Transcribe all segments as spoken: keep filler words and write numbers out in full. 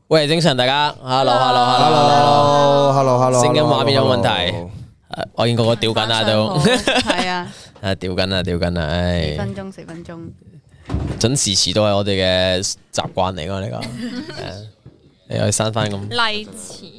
喂，精神大家 ，hello，hello，hello，hello，hello， 聲音畫面有冇問題？我見個個屌緊啦都， 係啊， 啊屌緊啦，屌緊啦，唉， 四分鐘，四分鐘， 準時遲到係我哋嘅習慣嚟㗎呢個，你可以刪翻咁。 例詞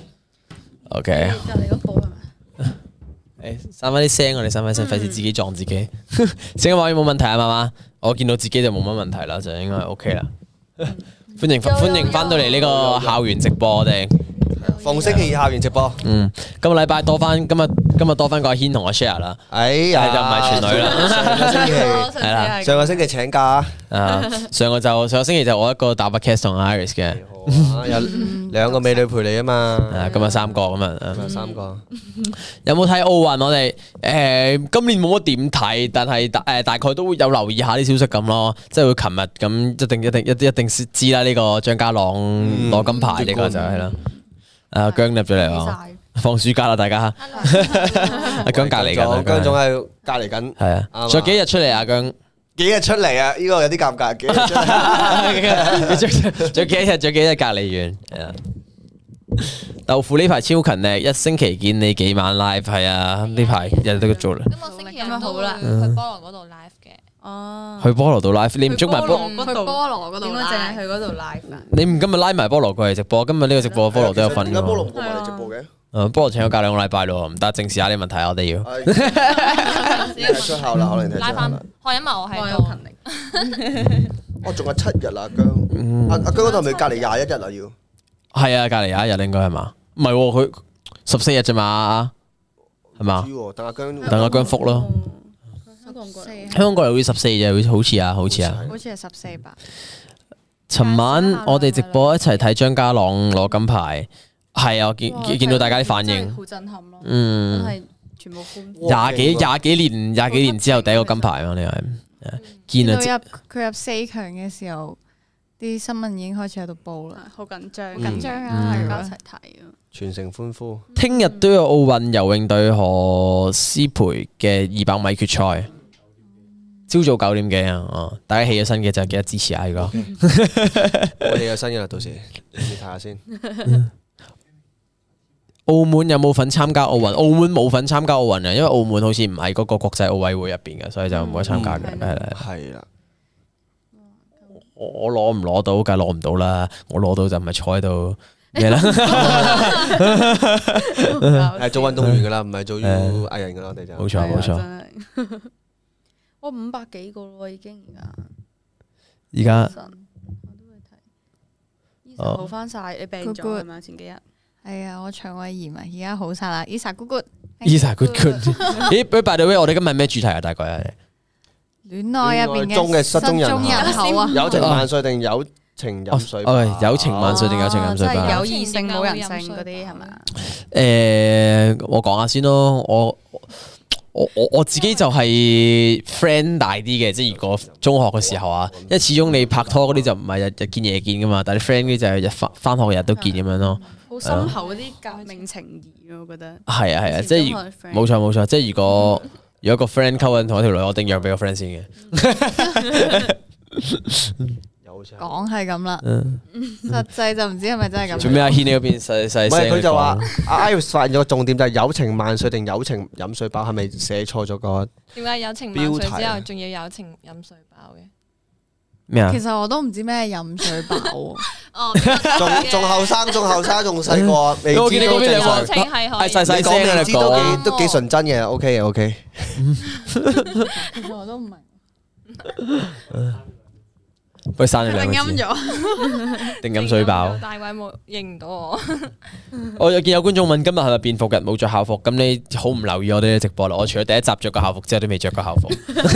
，OK。 隔離嗰部係咪？ 誒，刪翻啲聲，我哋刪翻聲，費事自己撞自己。聲音畫面冇問題啊，媽媽，我見到自己就冇乜問題啦，就應該 OK 啦。歡迎歡迎翻到嚟呢個校園直播，我哋逢星期二校園直播。 嗯，今個禮拜多翻，今日今日多翻個阿軒同我 share 啦。 哎呀， 就唔係全女啦。 上個星期係啦， 上個星期請假啊，上個就上個星期就我一個打把 cast 同 Iris 嘅， 有兩個美女陪你啊嘛。 啊，今日三個咁啊， 有三個。 有冇睇奧運？我哋誒今年冇乜點睇，但係大誒大概都會有留意下啲消息咁咯。即係會琴日咁一定一定一一定知啦。呢個張家朗攞金牌呢個就係啦。啊姜入咗嚟喎，放暑假啦大家。阿姜隔離緊， 姜總喺隔離緊。 係啊，仲有幾日出嚟啊姜？ 幾日出嚟啊？呢個有啲尷尬。幾日出嚟？ 仲有幾日？仲有幾日隔離完？係啊。豆腐呢排超勤力，一星期見你幾晚 live， 係啊，呢排日日都做啦。 咁我星期日都會去菠蘿嗰度 live 嘅。 哦， 去菠蘿度 live，你唔捉埋菠？ 去菠蘿嗰度，點解淨係去嗰度 live 啊？ 你唔今日拉埋菠蘿過嚟直播？今日呢個直播菠蘿都有份㗎。 點解菠蘿唔過埋嚟直播嘅？ 誒，菠蘿請咗假兩個禮拜咯，唔得，正視下啲問題，我哋要。 出校啦，可能拉翻，可因為我係我有勤力。 我仲有七日啦，姜。阿阿姜嗰度係咪隔離廿一日啊？要。 係啊，隔離廿一日應該係嘛？唔係喎，佢十四日啫嘛，係嘛？ 等阿姜， 等阿姜復咯。香港過嚟會十四日，好似啊，好似啊。 好似係十四吧。 尋晚我哋直播一齊睇張家朗攞金牌，係啊，我見見到大家啲反應， 好震撼咯。 嗯， 係全部歡呼。 廿幾廿幾年廿幾年之後第一個金牌嘛，你係見啊！ 佢入佢入四強嘅時候，啲新聞已經開始喺度報啦， 好緊張， 緊張啊！ 大家一齊睇啊！ 全城歡呼。 聽日都有奧運游泳對何詩蓓嘅二百米決賽，朝早九點幾啊！哦，大家起咗身嘅就記得支持下，如果我哋有新嘅啦，到時你睇下先。 澳門有冇份參加奧運？澳門冇份參加奧運啊，因為澳門好似唔係嗰個國際奧委會入邊嘅，所以就唔可以參加嘅。係啦， 係啦。 我我攞唔攞到，梗係攞唔到啦。我攞到就唔係坐喺度咩啦。 係做運動員噶啦，唔係做藝人噶啦，我哋就冇錯冇錯。 我五百幾個咯，已經而家。 而家我都會睇。醫生好翻晒，你病咗係嘛？前幾日。 係啊，我腸胃炎啊，而家好晒啦。Isa good good，Isa good good。咦，by the way，我哋今日咩主題啊？大概係戀愛入邊嘅中嘅失蹤人口啊， 友情萬歲定友情飲水飽？ 哦，友情萬歲定友情飲水飽？ 即係有異性冇人性嗰啲係咪？ 誒，我講下先咯，我我我我自己就係 friend 大啲嘅，即係如果中學嘅時候啊，因為始終你拍拖嗰啲就唔係日日見夜見噶嘛，但係 friend 嗰啲就係日翻翻學日都見咁樣咯。 好深厚嗰啲革命情誼啊，我覺得。 係啊係啊，即係冇錯冇錯，即係如果如果個 friend 溝緊同一條女，我一定讓俾個 friend 先嘅。 講係咁啦，實際就唔知係咪真係咁。 做咩阿軒你嗰邊細細聲？ 唔係佢就話阿 Iris 發現咗個重點就係友情萬歲定友情飲水飽，係咪寫錯咗個？ 點解友情萬歲之後仲要友情飲水飽嘅？ 咩啊？ 其實我都唔知咩飲水飽。 哦， 仲仲後生，仲後生，仲細個，未知都正常。 友情係可以。 細細聲啊！ 你講都幾都幾純真嘅 ，OK 嘅 OK。 我都唔明。 不如刪咗兩個字。 定音咗， 定飲水飽。 大鬼冇認唔到我。 我有見有觀眾問今日係咪便服日冇着校服？咁你好唔留意我哋嘅直播啦。我除咗第一集着過校服之後，都未着過校服。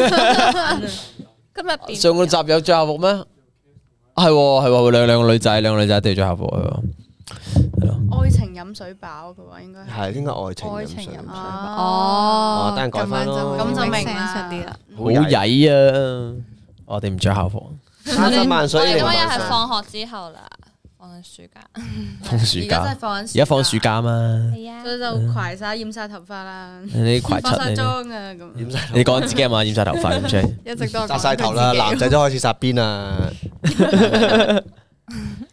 今日上個集有着校服咩？係喎係喎，兩兩個女仔，兩個女仔都要着校服係喎。 愛情飲水飽嘅話應該係應該愛情愛情飲水飽。 哦，等陣改翻咯。 咁就明啦啲啦。 好曳啊！我哋唔着校服。 三十萬歲， 我哋今日係放學之後啦，放緊暑假。 放暑假。 而家真係放緊。 而家放暑假嘛？ 係啊。 所以就攜晒染晒頭髮啦。 你攜化晒出妝啊咁。 你講自己係嘛？染晒頭髮咁出。 一直都紮晒頭啦，男仔都開始紮辮啊。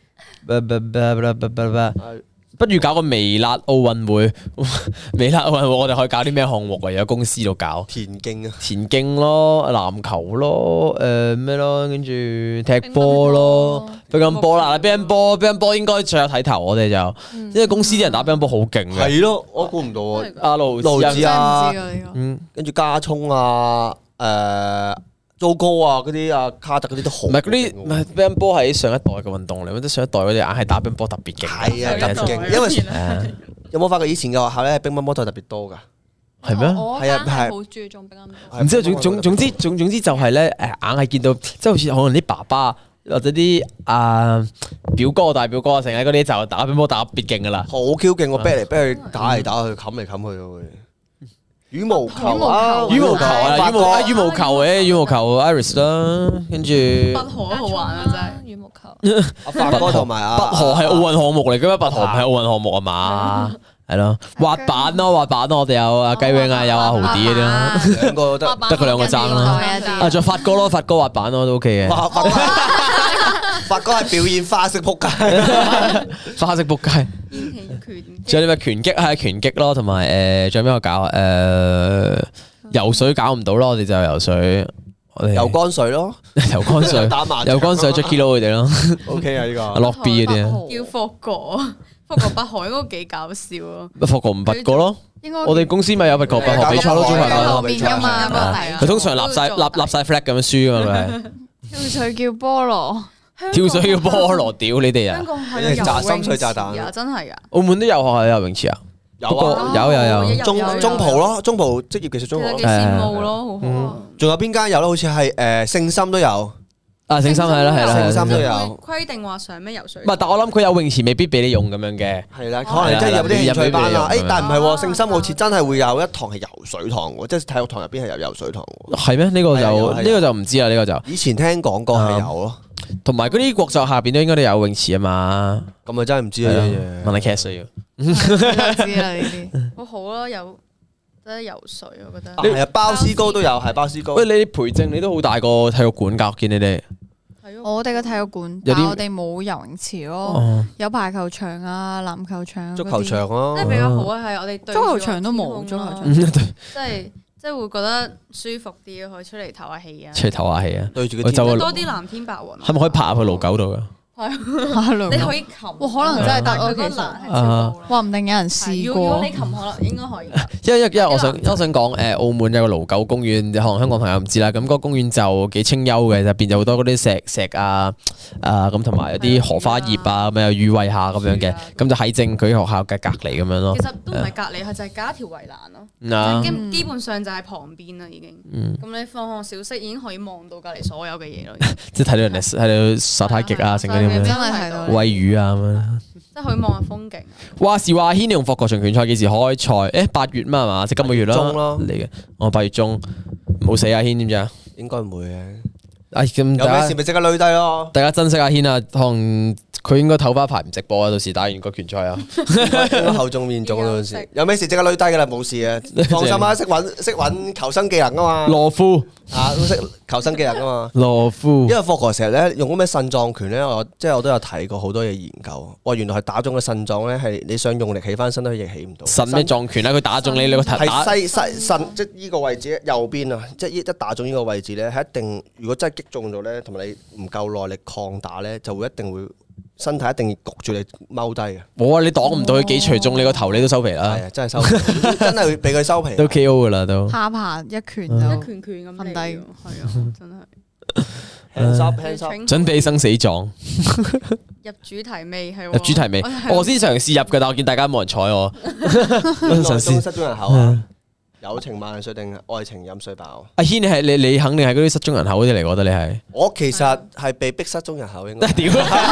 不如搞個微辣奧運會，微辣奧運會我哋可以搞啲咩項目啊？有公司度搞田徑啊， 田徑咯，籃球咯，誒咩咯，跟住踢波咯，乒乓波啦，乒乓波，乒乓波應該最有睇頭，我哋就，因為公司啲人打乒乓波好勁嘅。 係咯，我估唔到啊， 阿盧盧子啊， 嗯， 跟住加聰啊，誒。糟糕啊！嗰啲啊卡特嗰啲都好， 唔係嗰啲唔係乒乓波係上一代嘅運動嚟，我覺得上一代嗰啲硬係打乒乓波特別勁。 係啊，特別勁，因為有冇發覺以前嘅學校咧乒乓波都係特別多㗎？ 係咩？ 係啊，係好注重乒乓波。 唔知總總總之總總之就係咧誒，硬係見到即係好似可能啲爸爸或者啲啊表哥大表哥成日嗰啲就打乒乓波打特別勁㗎啦。 好 Q 勁，我逼嚟逼去打嚟打去，冚嚟冚去喎。羽毛球啊， 羽毛球啊，羽毛啊，羽毛球嘅羽毛球 Iris 啦，跟住拔河好玩啊，真係羽毛球。 阿發哥同埋阿拔河係奧運項目嚟嘅咩？拔河唔係奧運項目啊嘛？係咯，滑板咯，滑板咯，我哋有阿雞 wing 啊，有阿豪啲嗰啲咯， 兩個得得佢兩個爭啦。啊，仲有發哥咯，發哥滑板咯都 OK 嘅。 發哥係表演花式撲街， 花式撲街。仲有啲咩拳擊係拳擊咯，同埋誒仲有咩我搞啊？誒游水搞唔到咯，我哋就游水，我哋游乾水咯， 游乾水， 打麻游乾水 Jacky Lou 佢哋咯。 OK 啊呢個。 落 B 嗰啲啊， 叫霍哥，霍哥拔河應該幾搞笑啊！ 霍哥唔拔過咯，我哋公司咪有拔河拔河比賽咯，中學後面噶嘛， 佢通常立晒立立晒 flag 咁樣輸噶嘛佢係。 跳水叫菠蘿。 跳水叫菠蘿，屌你哋啊！ 香港係炸心水炸彈啊，真係啊！ 澳門都有學校有游泳池啊， 有啊， 有有有中中葡咯，中葡職業技術中學， 幾羨慕咯，好好啊！ 仲有邊間有咧？好似係誒聖心都有， 啊聖心係啦係啦， 聖心都有規定話上咩游水？ 唔係，但我諗佢有泳池未必俾你用咁樣嘅。 係啦，可能真係有啲興趣班啦。誒，但係唔係喎，聖心好似真係會有一堂係游水堂喎，即係體育堂入邊係有游水堂喎。 係咩？呢個就呢個就唔知啦，呢個就以前聽講過係有咯。 同埋嗰啲國際下邊都應該都有泳池啊嘛， 咁啊真係唔知啊， 問下 Cass 需要。 知啦呢啲， 好好咯，有得游水，我覺得。 係啊，包斯高都有，係包斯高。 喂，你培正你都好大個體育館㗎，見你哋。 我哋嘅體育館，但係我哋冇游泳池咯，有排球場啊、籃球場、 足球場咯。 即係比較好啊，係我哋對足球場都冇，足球場即係。即係會覺得舒服啲，可以出嚟唞下氣啊！ 出嚟唞下氣啊！ 對住個天， 多啲藍天白雲。 係咪可以爬入去盧九度噶？ 係，你可以擒。哇， 可能真係得咯，其實。話唔定有人試過。 如果你擒，可能應該可以。 因為因為我想我想講誒，澳門有個盧九公園，可能香港朋友唔知啦。咁嗰個公園就幾清幽嘅，入邊有好多嗰啲石石啊啊咁，同埋有啲荷花葉啊，咁有雨慧下咁樣嘅。咁就喺正佢學校嘅隔離咁樣咯。 其實都唔係隔離，係就係隔一條圍欄咯。基基本上就係旁邊啦，已經。咁你放學小息已經可以望到隔離所有嘅嘢咯。即係睇到人哋喺度耍太極啊，成嗰啲咁樣。 真係睇到。 餵魚啊咁樣。 即係可以望下風景。 話時話，軒你用霍國場拳賽幾時開賽？誒八月嘛係嘛？即係今個月啦。 中咯嚟嘅。我八月中。冇死阿軒知唔知啊？ 應該唔會嘅。 哎咁， 有咩事咪即刻累低咯。 大家珍惜阿軒啊，可能佢應該唞翻一排唔直播啊，到時打完個拳賽啊。 後中面中嗰陣時，有咩事即刻累低噶啦，冇事啊，放心啊，識揾識揾求生技能啊嘛。 羅夫啊，都識求生技能啊嘛。 羅夫， 因為霍哥成日咧用嗰咩腎臟拳咧，我即係我都有睇過好多嘢研究。哇，原來係打中嘅腎臟咧，係你想用力起翻身都亦起唔到。 腎咩撞拳咧？佢打中你你個頭打係西西腎，即係呢個位置右邊啊，即係一打中呢個位置咧，係一定如果真係擊中咗咧，同埋你唔夠耐力抗打咧，就會一定會。身體一定焗住你踎低嘅。 冇啊！你擋唔到佢幾錘中你個頭，你都收皮啦。 係啊，真係收皮，真係會俾佢收皮。 都 K O 噶啦都。 下巴一拳就一拳拳咁瞓低， 係啊，真係。 hands up hands up， 準備生死狀。 入主題未係？ 入主題未？我先嘗試入嘅，但我見大家冇人睬我。 內中失蹤人口啊！友情萬歲定愛情飲水飽？ 阿軒，你係你你肯定係嗰啲失蹤人口嗰啲嚟，我覺得你係。 我其實係被逼失蹤人口，應該。 屌！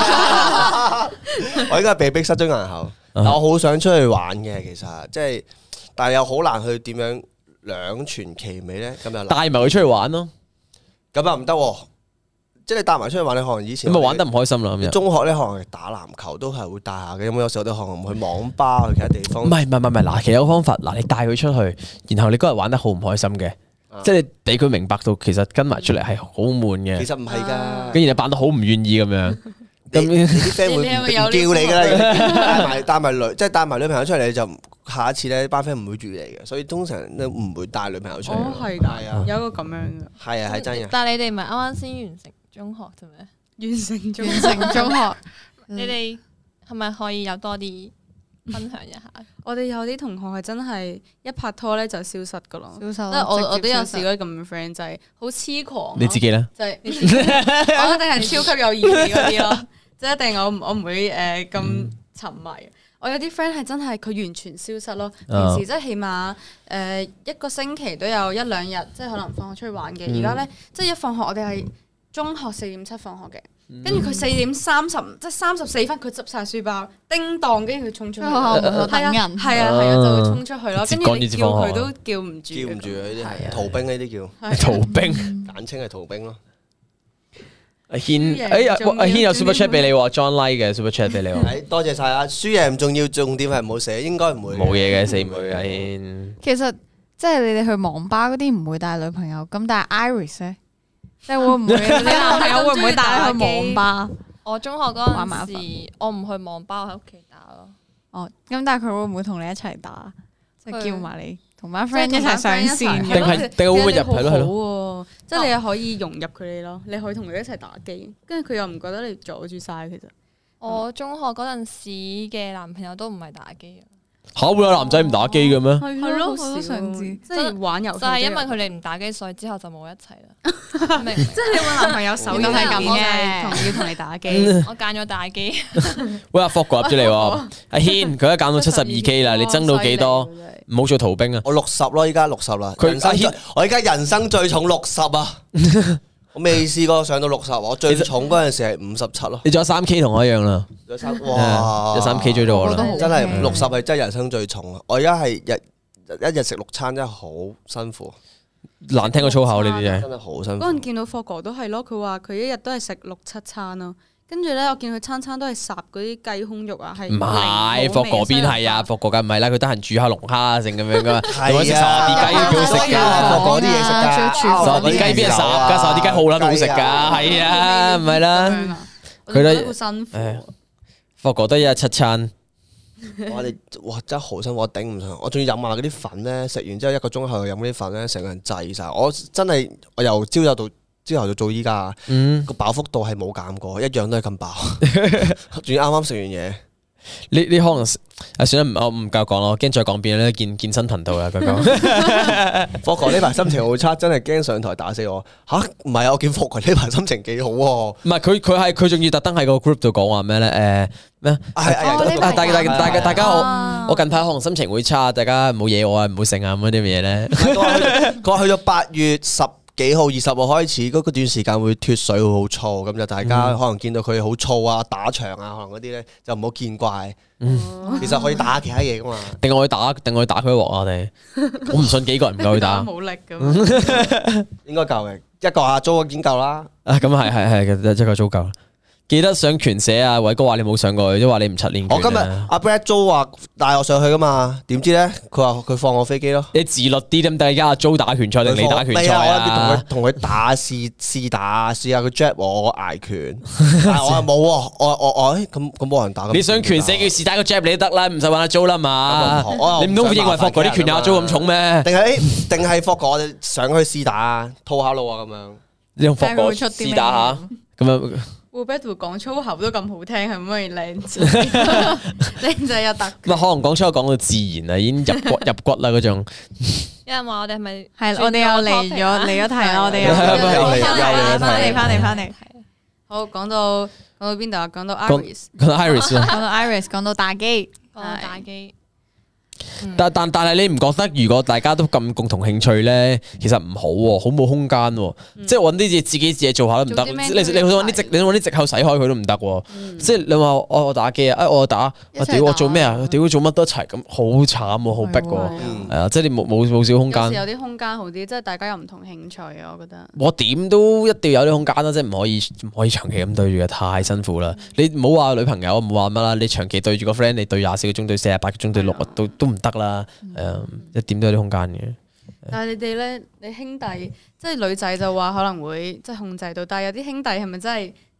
我應該係被逼失蹤人口，但我好想出去玩嘅，其實即係，但係又好難去點樣兩全其美咧。咁又帶埋佢出去玩咯， 咁又唔得。即係你帶埋出去玩，你可能以前咁咪玩得唔開心啦。咁中學咧可能打籃球都係會帶下嘅，咁有時候都可能去網吧去其他地方。 唔係唔係唔係，嗱，其實有個方法，嗱，你帶佢出去，然後你嗰日玩得好唔開心嘅，即係你俾佢明白到其實跟埋出嚟係好悶嘅。 其實唔係㗎， 跟住你扮到好唔願意咁樣。 你你啲 friend 會唔叫你㗎啦，帶埋帶埋女，即係帶埋女朋友出嚟，你就下一次咧班 friend 唔會住你嘅，所以通常都唔會帶女朋友出嚟。 哦，係㗎，有一個咁樣嘅。 係啊，係真嘅。 但係你哋唔係啱啱先完成中學啫咩？ 完成中完成中學， 你哋係咪可以有多啲分享一下？ 我哋有啲同學係真係一拍拖咧就消失噶咯， 消失。 即係我我都有試過咁嘅 friend，就係好痴狂。 你自己咧？ 就係我一定係超級有義氣嗰啲咯，即係一定我我唔會誒咁沉迷。我有啲 friend 係真係佢完全消失咯，平時即係起碼誒一個星期都有一兩日，即係可能放學出去玩嘅。而家咧即係一放學，我哋係中學四點七放學嘅。跟住佢四點三十，即係三十四分，佢執晒書包，叮當，跟住佢衝出去，係啊，係啊，係啊，就會衝出去咯。跟住你叫佢都叫唔住， 叫唔住呢啲係逃兵，呢啲叫逃兵， 簡稱係逃兵咯。 阿軒，哎呀，阿軒有 super chat 俾你喎 ，John Like 嘅 super chat 俾你喎。 多謝晒啊！輸贏唔重要，重點係唔好寫，應該唔會。 冇嘢嘅，死唔會嘅。阿軒， 其實即係你哋去網吧嗰啲唔會帶女朋友，咁但係 Iris 咧？即係會唔會你男朋友會唔會帶你去網吧？ 我中學嗰陣時，我唔去網吧，我喺屋企打咯。 哦，咁但係佢會唔會同你一齊打？即係叫埋你同班 friend 一齊上線， 定係定係會唔會入係咯係咯？即係你又可以融入佢哋咯，你可以同佢一齊打機，跟住佢又唔覺得你阻住晒。其實我中學嗰陣時嘅男朋友都唔係打機啊。 嚇會有男仔唔打機嘅咩？ 係咯，好想知， 即係玩遊戲。 就係因為佢哋唔打機，所以之後就冇一齊啦。明？即係你揾男朋友首要係咁嘅，同要同你打機。 我揀咗打機。 喂，阿 Fog 入咗嚟喎，阿軒佢而家減到七十二 K 啦，你增到幾多？唔好做逃兵啊！ 我六十咯，依家六十啦。佢阿軒，我而家人生最重六十啊！我未試過上到六十，我最重嗰陣時係五十七咯。 你仲有三 K 同我一樣啦。 哇！ 有三 K 追到我啦， 真係六十係真係人生最重啊！我而家係日一日食六餐，真係好辛苦。 難聽過粗口呢啲嘢， 真係好辛苦。 嗰陣見到霍哥都係咯，佢話佢一日都係食六七餐咯。跟住咧，我見佢餐餐都係烚嗰啲雞胸肉啊，係唔係霍哥邊係啊？霍哥梗唔係啦，佢得閒煮下龍蝦啊，成咁樣噶嘛。 係啊， 食烚啲雞幾好食㗎， 霍哥啲嘢食㗎， 烚啲雞邊係烚㗎，烚啲雞好撚好食㗎，係啊，唔係啦。佢都好辛苦。 霍哥得一日七餐。 我哋哇真係好辛苦，我頂唔上。我仲要飲埋嗰啲粉咧，食完之後一個鐘後飲嗰啲粉咧，成個人滯晒。我真係我由朝有到。朝頭早做依家，個飽腹度係冇減過，一樣都係咁飽，仲要啱啱食完嘢。 你你可能啊，算啦，我唔夠講咯，驚再講變咧健健身頻道啊，佢講。 霍哥呢排心情好差，真係驚上台打死我。吓，唔係啊，我見霍哥呢排心情幾好喎。 唔係佢佢係佢仲要特登喺個 group 度講話咩咧？誒咩？係大大大大大家我我近排可能心情會差，大家唔好惹我啊，唔好成啊咁啲嘢咧。 佢話去到八月十幾號二十號開始嗰段時間會脫水會好燥，咁就大家可能見到佢好燥啊、打牆啊，可能嗰啲咧就唔好見怪。其實可以打其他嘢噶嘛。定我去打，定我去打佢一鑊啊！我哋我唔信幾個人唔夠去打。 冇力咁。應該夠嘅，一個阿租已經夠啦。 啊，咁係係係，一個租夠。記得上拳社啊！偉哥話你冇上過去，即係話你唔七練拳。 我今日阿 Brad 租話帶我上去噶嘛，點知咧佢話佢放我飛機咯。 你自律啲得唔得？而家阿租打拳賽定你打拳賽啊？ 同佢打試試打，試下佢 jab 我，我挨拳。但係我冇喎，我我我咁咁冇人打。 你上拳社叫試打個 jab 你都得啦，唔使揾阿租啦嘛。你唔通認為霍哥啲拳有阿租咁重咩？ 定係定係霍哥我哋上去試打，套下路啊咁樣。 你用霍哥試打下咁樣。 會俾佢講粗口都咁好聽，係咪可以靚仔？靚仔又得。 可能講粗口講到自然啦，已經入骨入骨啦嗰種。 有人話我哋係咪係？我哋又嚟咗嚟咗題啦，我哋又翻嚟翻嚟翻嚟翻嚟。 好，講到講到邊度啊？講到 Iris， 講到 Iris， 講到 Iris，講到打機， 講到打機。 但但但係你唔覺得如果大家都咁共同興趣咧，其實唔好喎，好冇空間喎，即係揾啲嘢自己自己做下都唔得。你你想揾啲藉你揾啲藉口使開佢都唔得喎。即係你話我我打機啊，我打，我屌我做咩啊？屌做乜都一齊咁，好慘喎，好逼喎。係啊，即係你冇冇冇少空間。 有時有啲空間好啲，即係大家有唔同興趣啊，我覺得。 我點都一定要有啲空間啦，即係唔可以唔可以長期咁對住嘅，太辛苦啦。你唔好話女朋友，唔好話乜啦，你長期對住個 friend，你對廿四個鐘，對四十八個鐘，對六都都唔得啦。誒，一點都有啲空間嘅。 但係你哋咧，你兄弟即係女仔就話可能會即係控制到，但係有啲兄弟係咪真係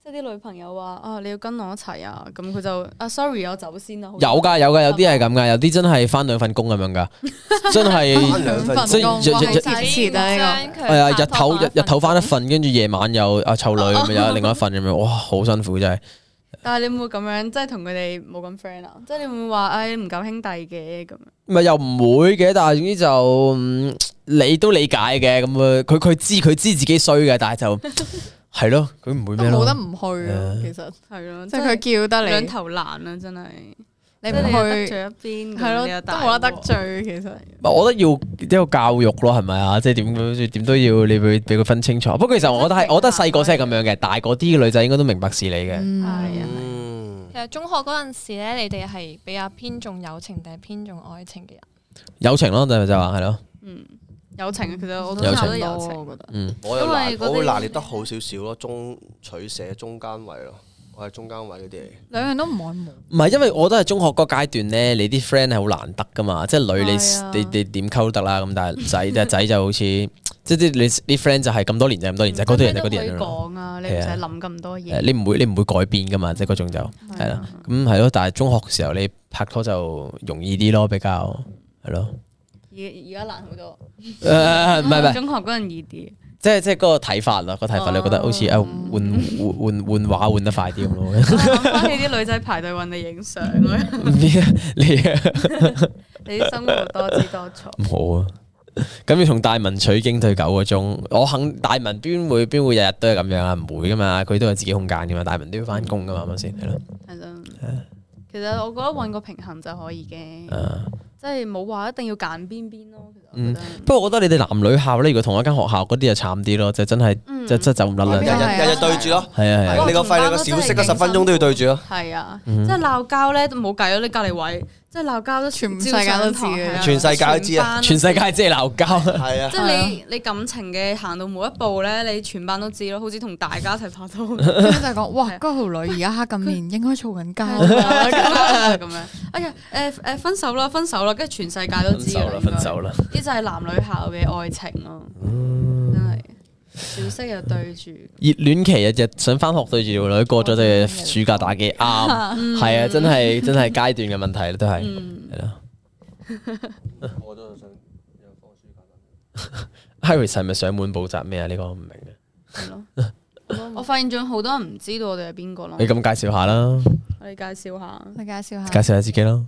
即係啲女朋友話啊，你要跟我一齊啊，咁佢就啊 sorry，我走先啦。 有㗎有㗎，有啲係咁㗎，有啲真係翻兩份工咁樣㗎，真係返兩份即工係日日日太遲啦呢個。 係啊，日頭日日頭翻一份，跟住夜晚又啊湊女咁樣，有另外一份咁樣，哇，好辛苦真係。 但係你會唔會咁樣，即係同佢哋冇咁 friend 啊？即係你會唔會話誒唔夠兄弟嘅咁樣？ 唔係又唔會嘅，但係總之就、嗯、你都理解嘅咁啊。佢佢知佢知自己衰嘅，但係就係咯，佢唔會咩咯。 冇得唔去啊，其實係咯， 即係佢叫得你兩頭難啊，真係。 你唔即係你得去罪一邊， 係咯，都冇得得罪。其實我覺得要一個教育咯，係咪啊？即係點點都要你會俾佢分清楚。不過其實我覺得係，我覺得細個先係咁樣嘅，大個啲嘅女仔應該都明白事理嘅。 嗯係啊。 嗯， 其實中學嗰陣時咧，你哋係比較偏重友情定係偏重愛情嘅人？ 友情咯，就就話係咯。 嗯，友情其實我都友情覺得友情， 我覺得嗯， 我又拿因為嗰啲我會拿捏得好少少咯，中取捨中間位咯，我係中間位嗰啲嚟。 兩樣都唔愛慕。 唔係，因為我覺得係中學嗰個階段咧，你啲 friend 係好難得噶嘛，即係女你係啊你你點溝都得啦，咁但係仔仔仔就好似即係啲你啲 friend 就係咁多年就咁多年，就係嗰啲人就嗰啲人可以咯。 講啊，你唔使諗咁多誒嘢。 你唔會你唔會改變噶嘛，即係嗰種就係啦。咁係咯，但係中學時候你拍拖就容易啲咯，比較係咯。 而而家難好多。 誒唔係唔係， 中學嗰陣易啲。 即係即係嗰個睇法啦，個睇法你覺得好似啊換換換換畫換得快啲咁咯。 諗翻起啲女仔排隊揾你影相咧， 你啊你啊你啲生活多姿多彩。 唔好啊！咁要同大文取經對九個鐘，我肯大文邊會邊會日日都係咁樣啊？唔會噶嘛，佢都有自己空間噶嘛，大文都要翻工噶嘛，係咪先？係咯。 係咯。其實我覺得揾個平衡就可以嘅， 啊即係冇話一定要揀邊邊咯。其實我嗯覺得。 不過我覺得你哋男女校咧，如果同一間學校嗰啲就慘啲咯，就真係嗯即即走唔甩啦。 日係啊日日日對住咯， 係啊係啊。 你個費你個小息嗰十分鐘都要對住咯。 係啊， 嗯即係鬧交咧都冇計咯，你隔離位即係鬧交都全世界都知嘅全世界都知啊全世界即係鬧交。 係啊即，係你你感情嘅行到每一步咧，你全班都知咯，好似同大家一齊拍拖咁跟住就講哇，嗰條女而家黑咁面，應該嘈緊交。 樣。咁樣，哎呀，誒誒分手啦，分手啦，跟住全世界都知啦分手啦，分手啦。 呢就係男女校嘅愛情咯，真係小息又對住， 熱戀期日日想翻學對住條女，過咗就暑假打機啱，係啊，真係真係階段嘅問題啦，都係嗯， 係咯。 我都想有放暑假。 Iris 係咪上門補習咩啊？呢個我唔明嘅， 係咯。我發現仲有好多人唔知道我哋係邊個咯你，咁介紹下啦， 我哋介紹下。 你介紹下。 介紹下自己咯。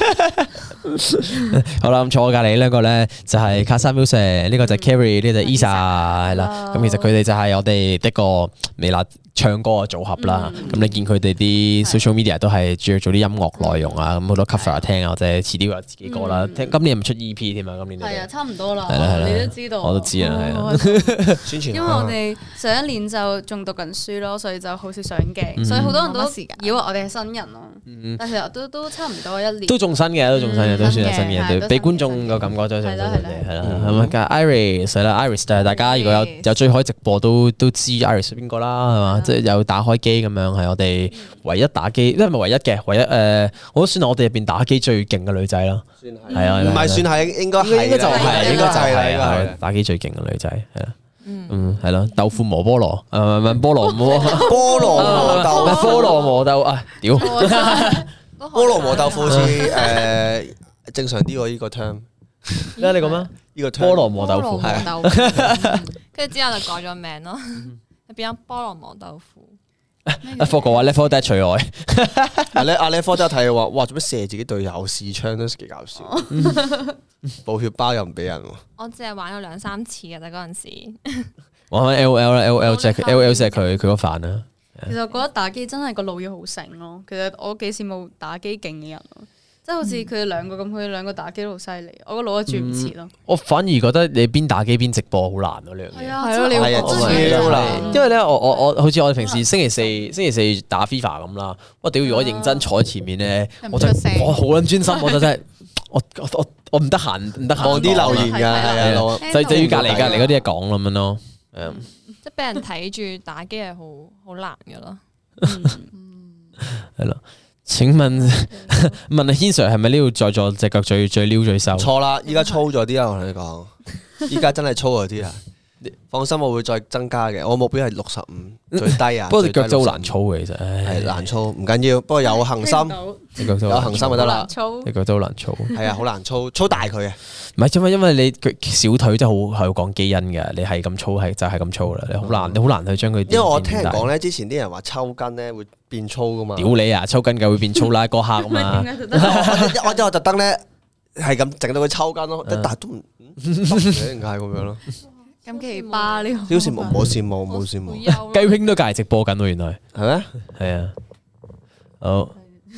好啦，咁坐我隔離呢個咧就係 Casa Music，呢個就係 Carrie，呢個就係 Isa，係啦。咁其實佢哋就係我哋一個微辣唱歌嘅組合啦。咁你見佢哋啲 social media 都係主要做啲音樂內容啊，咁好多 cover 聽啊，或者遲啲會有自己歌啦。聽今年係咪出 E P 添啊？今年係啊，差唔多啦， 係啦係啦你都知道， 我都知啊係啊啊。 宣傳因為我哋上一年就仲讀緊書咯，所以就好少上嗯鏡，所以好多人都冇乜時間以為我哋係新人咯。但其實都都差唔多一年。 都仲新嘅，都仲新嘅，都算係新嘅， 係都對俾觀新嘅眾個感覺都係新嘅， 係啦係啦係啦。咁啊，但係 Iris 係啦，Iris 就係大家如果有有追開直播都都知 Iris 係邊個啦，係嘛？即係有打開機咁樣，係我哋唯一打機，因為唔係唯一嘅，唯一誒，我都算係我哋入邊打機最勁嘅女仔啦。 算係係啊唔係算係應該係啦應該就係，應該就係啦，應該係係啊打機最勁嘅女仔，係啦。嗯，係咯，豆腐磨菠蘿，誒唔係菠蘿磨菠蘿磨豆菠蘿磨豆啊！屌， 菠蘿磨豆腐好似誒正常啲喎，呢個 term 咩你講咩？ 呢個 term 菠蘿磨豆腐菠蘿係磨豆腐跟住之後就改咗名咯，變咗菠蘿磨豆腐。 阿霍哥話 level dead 除外。 阿咧阿咧科真係睇話，哇！做咩射自己隊友試槍都幾搞笑，補血包又唔俾人喎。 我只係玩咗兩三次嘅啫，嗰陣時。 玩翻 L O L 啦，L O L 即係 L O L 即係佢佢個飯啦。 其實我覺得打機真係個腦要好醒咯。其實我幾羨慕打機勁嘅人咯，即係好似佢哋兩個咁，佢哋兩個打機都好犀利，我個腦都轉唔切咯。 我反而覺得你邊打機邊直播好難咯，呢樣嘢。 係啊， 係咯你要係啊講超嘢難因為咧，我我我好似我哋平時星期四星期四打 FIFA 咁啦，我屌如果認真坐喺前面咧， 又唔我真出聲係我好撚專心，我就真係我我我我唔得閒唔得閒望啲留言㗎， 係啊係啊，老就就要隔離隔離嗰啲嘢講咁樣咯。誒即係俾人睇住打機係好好難嘅咯。 係咯。請問問阿軒 Sir 係咪呢度在座隻腳最最溜最瘦？ 錯啦！依家粗咗啲啊，我同你講，依家真係粗咗啲啊！ 放心，我會再增加嘅。我目標係六十五最低啊。 不過隻腳真係好難操嘅，其實係難操，唔緊要。不過有恆心，有恆心就得啦。 隻腳都好難操， 係啊，好難操，操大佢啊。 唔係因為因為你小腿真係好係講基因嘅，你係咁操係就係咁操啦，你好難你好難去將佢。 因為我聽人講咧，之前啲人話抽筋咧會變粗噶嘛。 屌你啊！抽筋嘅會變粗啦，嗰刻啊嘛。 我我特登咧係咁整到佢抽筋咯，但係都唔點解咁樣咯？ 咁奇葩呢個， 好羨慕，冇羨慕，冇羨慕。 雞兄都隔籬直播緊喎，原來係咩？ 係啊，好。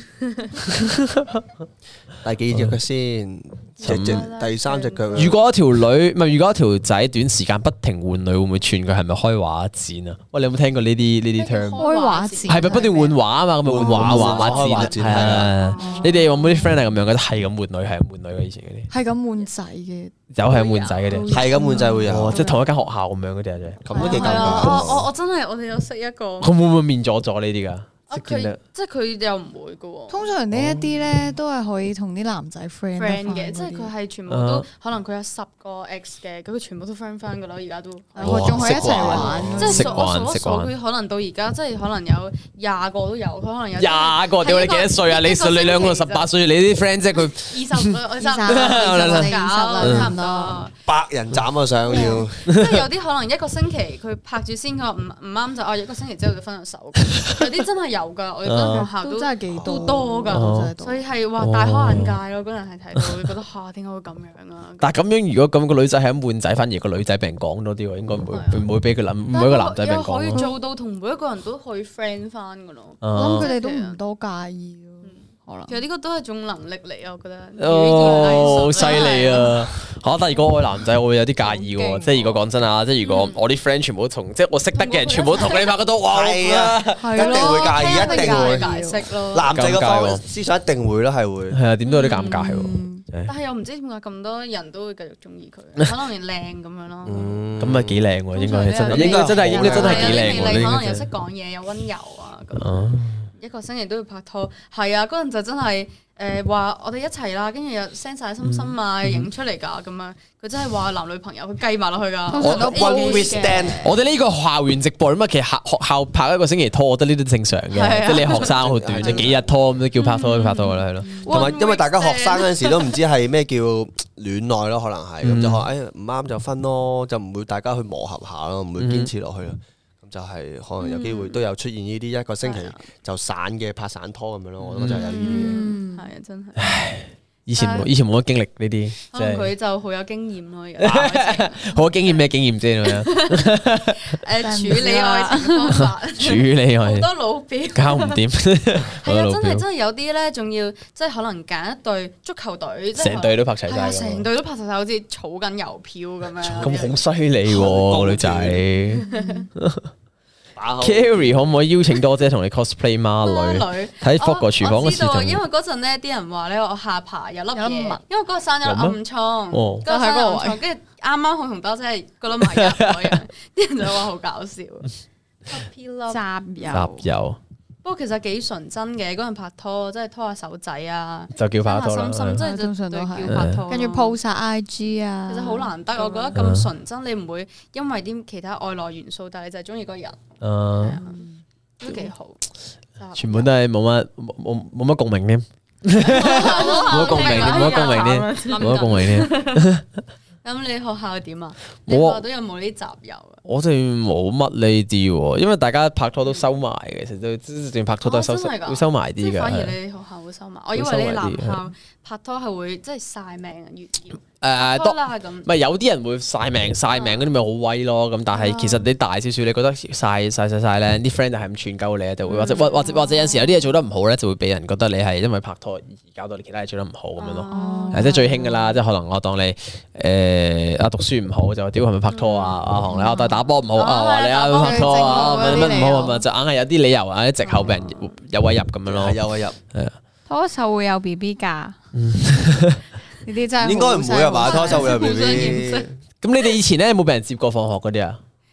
第幾隻腳先？隻隻第三隻腳。 如果一條女唔係，如果一條仔短時間不停換女，會唔會串佢係咪開畫展啊？喂，你有冇聽過呢啲呢啲 term？ 開畫展係咪不斷換畫啊嘛？咁咪換畫畫畫展係啊！你哋有冇啲 friend 係咁樣嘅？係咁換女，係咁換女嘅以前嗰啲。 係咁換仔嘅， 有係咁換仔嘅啲， 係咁換仔會有， 哦即係同一間學校咁樣嗰啲啊，真係。 咁都幾尷係啊！ 尬。 我我我真係我哋有識一個， 佢會唔會面咗咗呢啲㗎？ 啊佢即係佢又唔會嘅喎。 通常呢一啲咧都係可以同啲男仔 friend friend 嘅，即係佢係全部都可能佢有十個 ex 嘅，咁佢全部都 friend 翻㗎啦，而家都我仲可以一齊玩， 即係數我數一數佢可能到而家即係可能有廿個都有，佢可能有廿個。屌你幾多歲啊？你你兩個十八歲，你啲 friend 即係佢二十，我二十， 二十二十啦，差唔多。 百人斬啊想要， 即係有啲可能一個星期佢拍住先，佢話唔唔啱就啊一個星期之後就分咗手。有啲真係有㗎，我哋嗰陣學校都真係幾都多㗎，所以係話大開眼界咯。嗰陣係睇到會覺得嚇點解會咁樣啊？ 但係咁樣如果咁個女仔係咁換仔，反而個女仔俾人講多啲喎，應該唔會唔會俾佢諗，唔會一個男仔俾人講。 可以做到同每一個人都可以 friend 翻㗎咯。 我諗佢哋都唔多介意咯。 其實呢個都係一種能力嚟，我覺得。 哦，好犀利啊！嚇，但係如果我係男仔，我會有啲介意喎。即係如果講真啊，即係如果我啲 friend 全部都同，即係我識得嘅人全部都同你拍嗰套，哇！ 係啊，一定會介意，一定會解釋咯。 男仔嘅方思想一定會咯，係會。 係啊，點都有啲尷尬喎。 但係又唔知點解咁多人都會繼續中意佢，可能靚咁樣咯。 咁咪幾靚喎？應該係真係，應該真係應該真係幾靚喎。 可能又識講嘢，又溫柔啊咁。一個星期都要拍拖，係啊！嗰陣就真係誒話我哋一齊啦，跟住又 send 晒心心啊，影出嚟㗎咁樣。佢真係話男女朋友，佢計埋落去㗎。 通常都 one week stand。 我哋呢個校園直播咁啊，其實學學校拍一個星期拖，我覺得呢啲正常嘅，即係你學生好短，即幾日拖咁都叫拍拖，拍拖㗎啦，係咯。 同埋因為大家學生嗰陣時都唔知係咩叫戀愛咯，可能係咁就話誒唔啱就分咯，就唔會大家去磨合下咯，唔會堅持落去咯。就係可能有機會都有出現呢啲一個星期就散嘅拍散拖咁樣咯，我覺得就有呢啲嘢。 係啊，真係。 以前冇以前冇乜經歷呢啲， 可能佢就好有經驗咯。而家好有經驗咩經驗啫？咁樣誒處理愛情方法， 處理愛情好多老表搞唔掂。 係啊，真係真係有啲咧，仲要即係可能揀一隊足球隊， 成隊都拍齊晒， 成隊都拍齊晒，好似儲緊郵票咁樣。 咁好犀利喎，女仔。Carrie 可唔可以邀請多姐同你 cosplay 孖女？睇 Fog 個廚房嗰時就因為嗰陣咧啲人話咧我下巴有粒嘢，因為嗰個生咗暗瘡， 哦， 嗰個生咗暗瘡，跟住啱啱好同多姐係嗰粒埋一嗰樣，啲人就話好搞笑。 集郵集郵。 不過其實幾純真嘅，嗰陣拍拖，即係拖下手仔啊， 就叫拍拖啦。 心心即係通常都叫拍拖， 跟住 po 晒 I G 啊。 其實好難得，我覺得咁純真，你唔會因為啲其他外來元素，但係你就係中意個人，都幾好。 全部都係冇乜冇冇乜共鳴添，冇乜共鳴添，冇乜共鳴添，冇乜共鳴添。 咁你學校點啊？你學校都有冇呢啲集郵啊？ 我哋冇乜呢啲喎，因為大家拍拖都收埋嘅，其實都即係拍拖都係收會收埋啲嘅。 反而你學校會收埋，我以為你男校拍拖係會即係曬命啊，越要。 誒， 多啦咁， 唔係有啲人會曬命曬命嗰啲咪好威咯，咁但係其實你大少少，你覺得曬曬曬曬咧，啲 friend 就係咁串鳩你，就會或者或或者或者有時有啲嘢做得唔好咧，就會俾人覺得你係因為拍拖而搞到你其他嘢做得唔好咁樣咯。即係最興噶啦，即係可能我當你誒啊讀書唔好就話屌係咪拍拖啊？阿紅你啊打波唔好啊，話你啊拍拖啊，乜乜唔好啊嘛，就硬係有啲理由啊啲藉口俾人有位入咁樣咯， 有位入。 拖手會有 B B 㗎。呢啲真係應該唔會啊嘛，拖手會有 B B。 咁你哋以前咧有冇俾人接過放學嗰啲啊？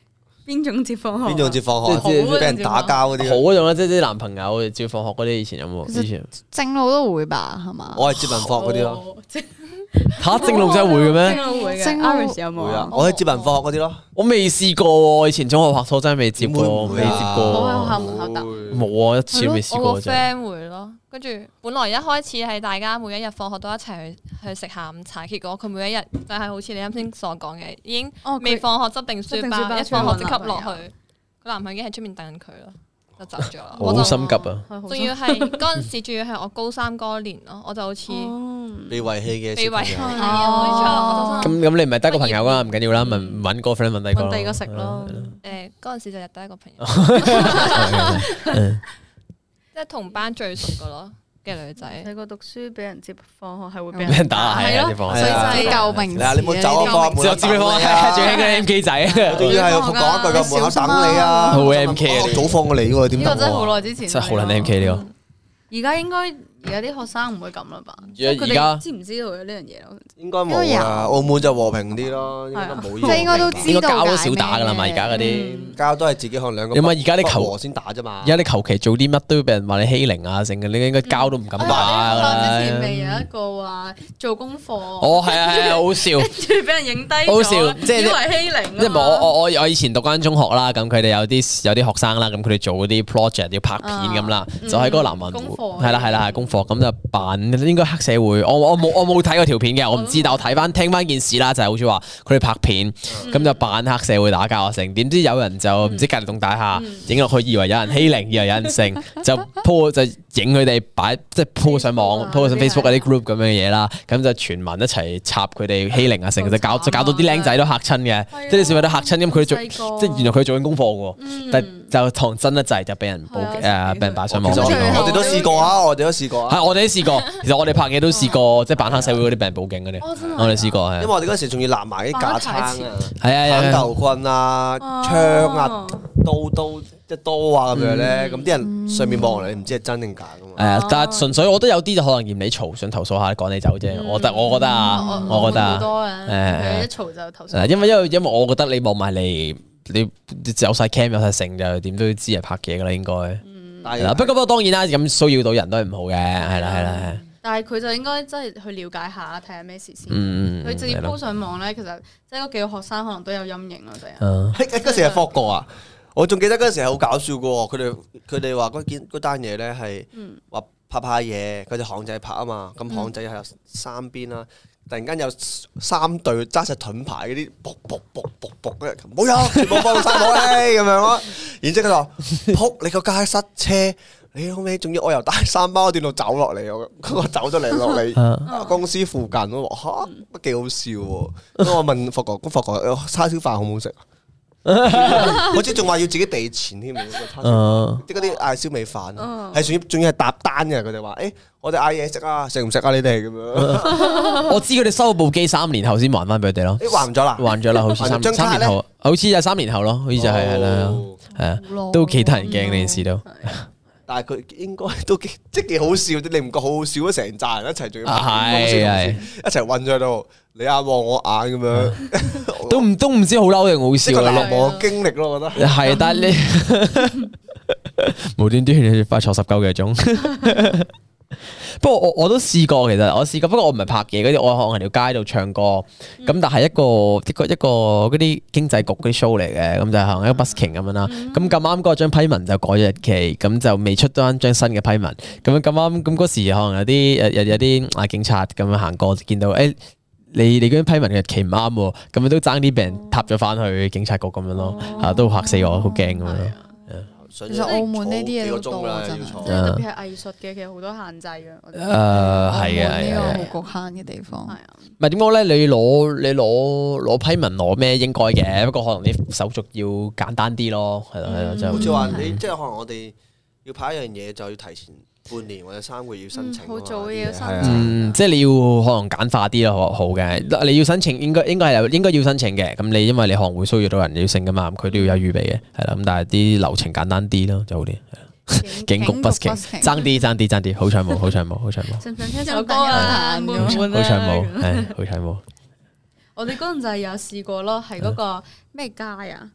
邊種接放學？ 邊種接放學？ 即係俾人打交嗰啲。 好嗰種啦，即係啲男朋友照放學嗰啲，以前有冇？以前正路都會吧，係嘛？ 我係接文放學嗰啲咯。 哦，即係嚇正路真係會嘅咩？ 正路會嘅正路 ，Iris 有冇會啊啊？！ 我係接文放學嗰啲咯。 我未試過喎，以前中學拍拖真係未接過，未接點會唔會啊我過。 喺學校門口等。 冇啊，一次都未試我個過啫。 friend 會咯，跟住本來一開始係大家每一日放學都一齊去去食下午茶，結果佢每一日就係好似你啱先所講嘅，已經哦佢未放學執定書執定書包包，一放學即刻落出去揾男朋去，佢男朋友已經喺出面等緊佢咯，就走咗啦。 我好我就心急啊！ 仲要係嗰陣時，仲要係我高三嗰年咯，我就好似被遺棄嘅被遺棄， 小朋友係啊冇錯，我就咁咁你唔係得個朋友噶，唔緊要啦，咪揾個 friend 揾第二個咯。 揾第二個食咯。 誒嗰陣時就日得一個朋友， 嗯即係同班最熟嘅咯嘅女仔。 細個讀書俾人接放學係會俾俾人打係啊， 咯啲放所以學。 就係救命嗱，你冇走啊，放學之後接俾放學，最興嗰啲 M K 仔， 仲要係講一句個門口等你啊！ 好 M K 啊我早放過你喎，點得呢個真係好喎？ 耐之前。 真係好撚 M K 呢個。 而家應該而家啲學生唔會咁啦吧？ 而家佢哋知唔知道有呢樣嘢咯？ 應該冇啊，澳門就和平啲咯，應該冇呢即係應該都知道應該交都少打噶啦嘛，而家嗰啲。 嗯交都係自己可能兩個有冇而家啲球不和先打啫嘛而。家你求其做啲乜都要俾人話你欺凌啊，成嘅，你應該交都唔敢打㗎我之前未啦。 有一個話做功課， 哦，係啊係啊，好笑。 跟住俾人影低咗， 好笑即係以為欺凌啊嘛。 因為我我我我以前讀間中學啦，咁佢哋有啲有啲學生啦，咁佢哋做嗰啲 project 要拍片咁啦，就喺嗰個南雲功課係啦係啦係功課，咁就扮應該黑社會。我我冇我冇睇過條片嘅，我唔知，但我睇翻聽翻件事啦，就係好似話佢哋拍片，咁就扮黑社會打交啊成，點知有人就唔知隔離棟大廈影落去，以為有人欺凌，以為有人性，就 po 就影佢哋擺即係 po 上網 po 上 Facebook 嗰啲 group 咁樣嘅嘢啦，咁就全民一齊插佢哋欺凌啊成，就搞就搞到啲僆仔都嚇親嘅，即係啲小朋友都嚇親，咁佢做即係原來佢做緊功課嘅喎，但就堂真一滯就俾人報誒俾人擺上網其實我咯。 我哋都試過啊，我哋都試過啊。 係我哋都試過，其實我哋拍嘢都試過，即係扮黑社會嗰啲俾人報警嗰啲，我哋試過係因為。我哋嗰時仲要立埋啲架撐啊、 係啊係啊， 反頭棍啊、槍啊、刀刀即係刀啊咁樣咧，咁啲人上面望落嚟唔知係真定假噶嘛。 係啊，但係純粹我覺得有啲就可能嫌你嘈，想投訴下趕你走啫。我覺得我覺得啊，我覺得啊， 好多嘅，佢一誒嘈就投訴。 係因為因為因為我覺得你望埋嚟，你有晒 cam 有晒成就點都要知係拍嘢噶啦，應該係啦。不過不過當然啦，咁騷擾到人都係唔好嘅，係啦係啦係。 但係佢就應該真係去了解下，睇下咩事先。 嗯， 佢直接係咯 po 上網咧，其實即係嗰幾個學生可能都有陰影咯，第日。 嗯喺嗰時係霍過啊！我仲記得嗰陣時係好搞笑嘅喎，佢哋佢哋話嗰件嗰單嘢咧係話拍拍嘢，佢哋巷仔拍啊嘛，咁巷仔係有三邊啦，突然間有三隊揸實盾牌嗰啲，卜卜卜卜卜嘅，冇有全部放晒武器咁樣咯。然之後佢話：撲你個街塞車！你好尾，仲要我由大三巴段路走落嚟，我我走咗嚟落嚟公司附近，我話嚇，都幾好笑喎。咁我問霍哥，咁霍哥叉燒飯好唔好食啊？好似仲話要自己俾錢添， 嗯啲嗰啲嗌燒味飯，係仲要仲要係搭單嘅。佢哋話：誒，我哋嗌嘢食啊，食唔食啊？你哋咁樣。 我知佢哋收部機三年後先還翻俾佢哋咯， 誒還咗啦， 還咗啦，好似三張卡三年後，好似就三年後咯，好似就係係啦， 哦係啊，都幾得人驚呢件事都。 但係佢應該都幾即係幾好笑啲，你唔覺好好笑啊？成扎人一齊仲要啊係係一齊韞咗喺度，你眼望我眼咁樣， 都唔都唔知好嬲定好即係個難笑咯。 忘嘅經歷咯，我覺得。 係，但係你無端端你快坐十九個鐘。不過我我都試過，其實我試過，不過我唔係拍嘢嗰啲，我可能條街度唱歌，咁、但係一個一個一個嗰啲經濟局嗰啲 show 嚟嘅，咁就係一個 busking 咁樣啦。咁咁啱嗰張批文就改咗日期，咁就未出多張新嘅批文。咁樣咁啱，咁嗰時可能有啲有有啲啊警察咁樣行過，見到誒、欸、你你嗰張批文嘅日期唔啱喎，咁樣都爭啲俾人踏咗翻去警察局咁樣咯，嚇、都嚇死我，好驚咁樣咯。 其其實澳門呢啲嘢都多真係即係特別係藝術嘅，其實好多限制嘅。我覺誒得係嘅係呢嘅。 個好局限嘅地方係。啊， 唔係點講咧？你攞你攞攞批文攞咩應該嘅，不過可能啲手續要簡單啲咯，係咯係咯，就好似話你即係可能我哋要拍一樣嘢，就要提前半年或者三個月要申請。 好早嘅要申係啊請嗯，即係你要可能簡化啲咯，好嘅。你要申請應該應該係有應該要申請嘅。咁你因為你可能會騷擾到人要性噶嘛，咁佢都要有預備嘅，係啦。咁但係啲流程簡單啲咯，就好啲。警局 busking 爭啲爭啲爭啲，好彩冇好彩冇好彩冇， 想唔想聽首歌啊？悶唔悶好彩冇， 啊？ 係好彩冇。 我哋嗰陣就係有試過咯，係嗰個咩街啊？嗰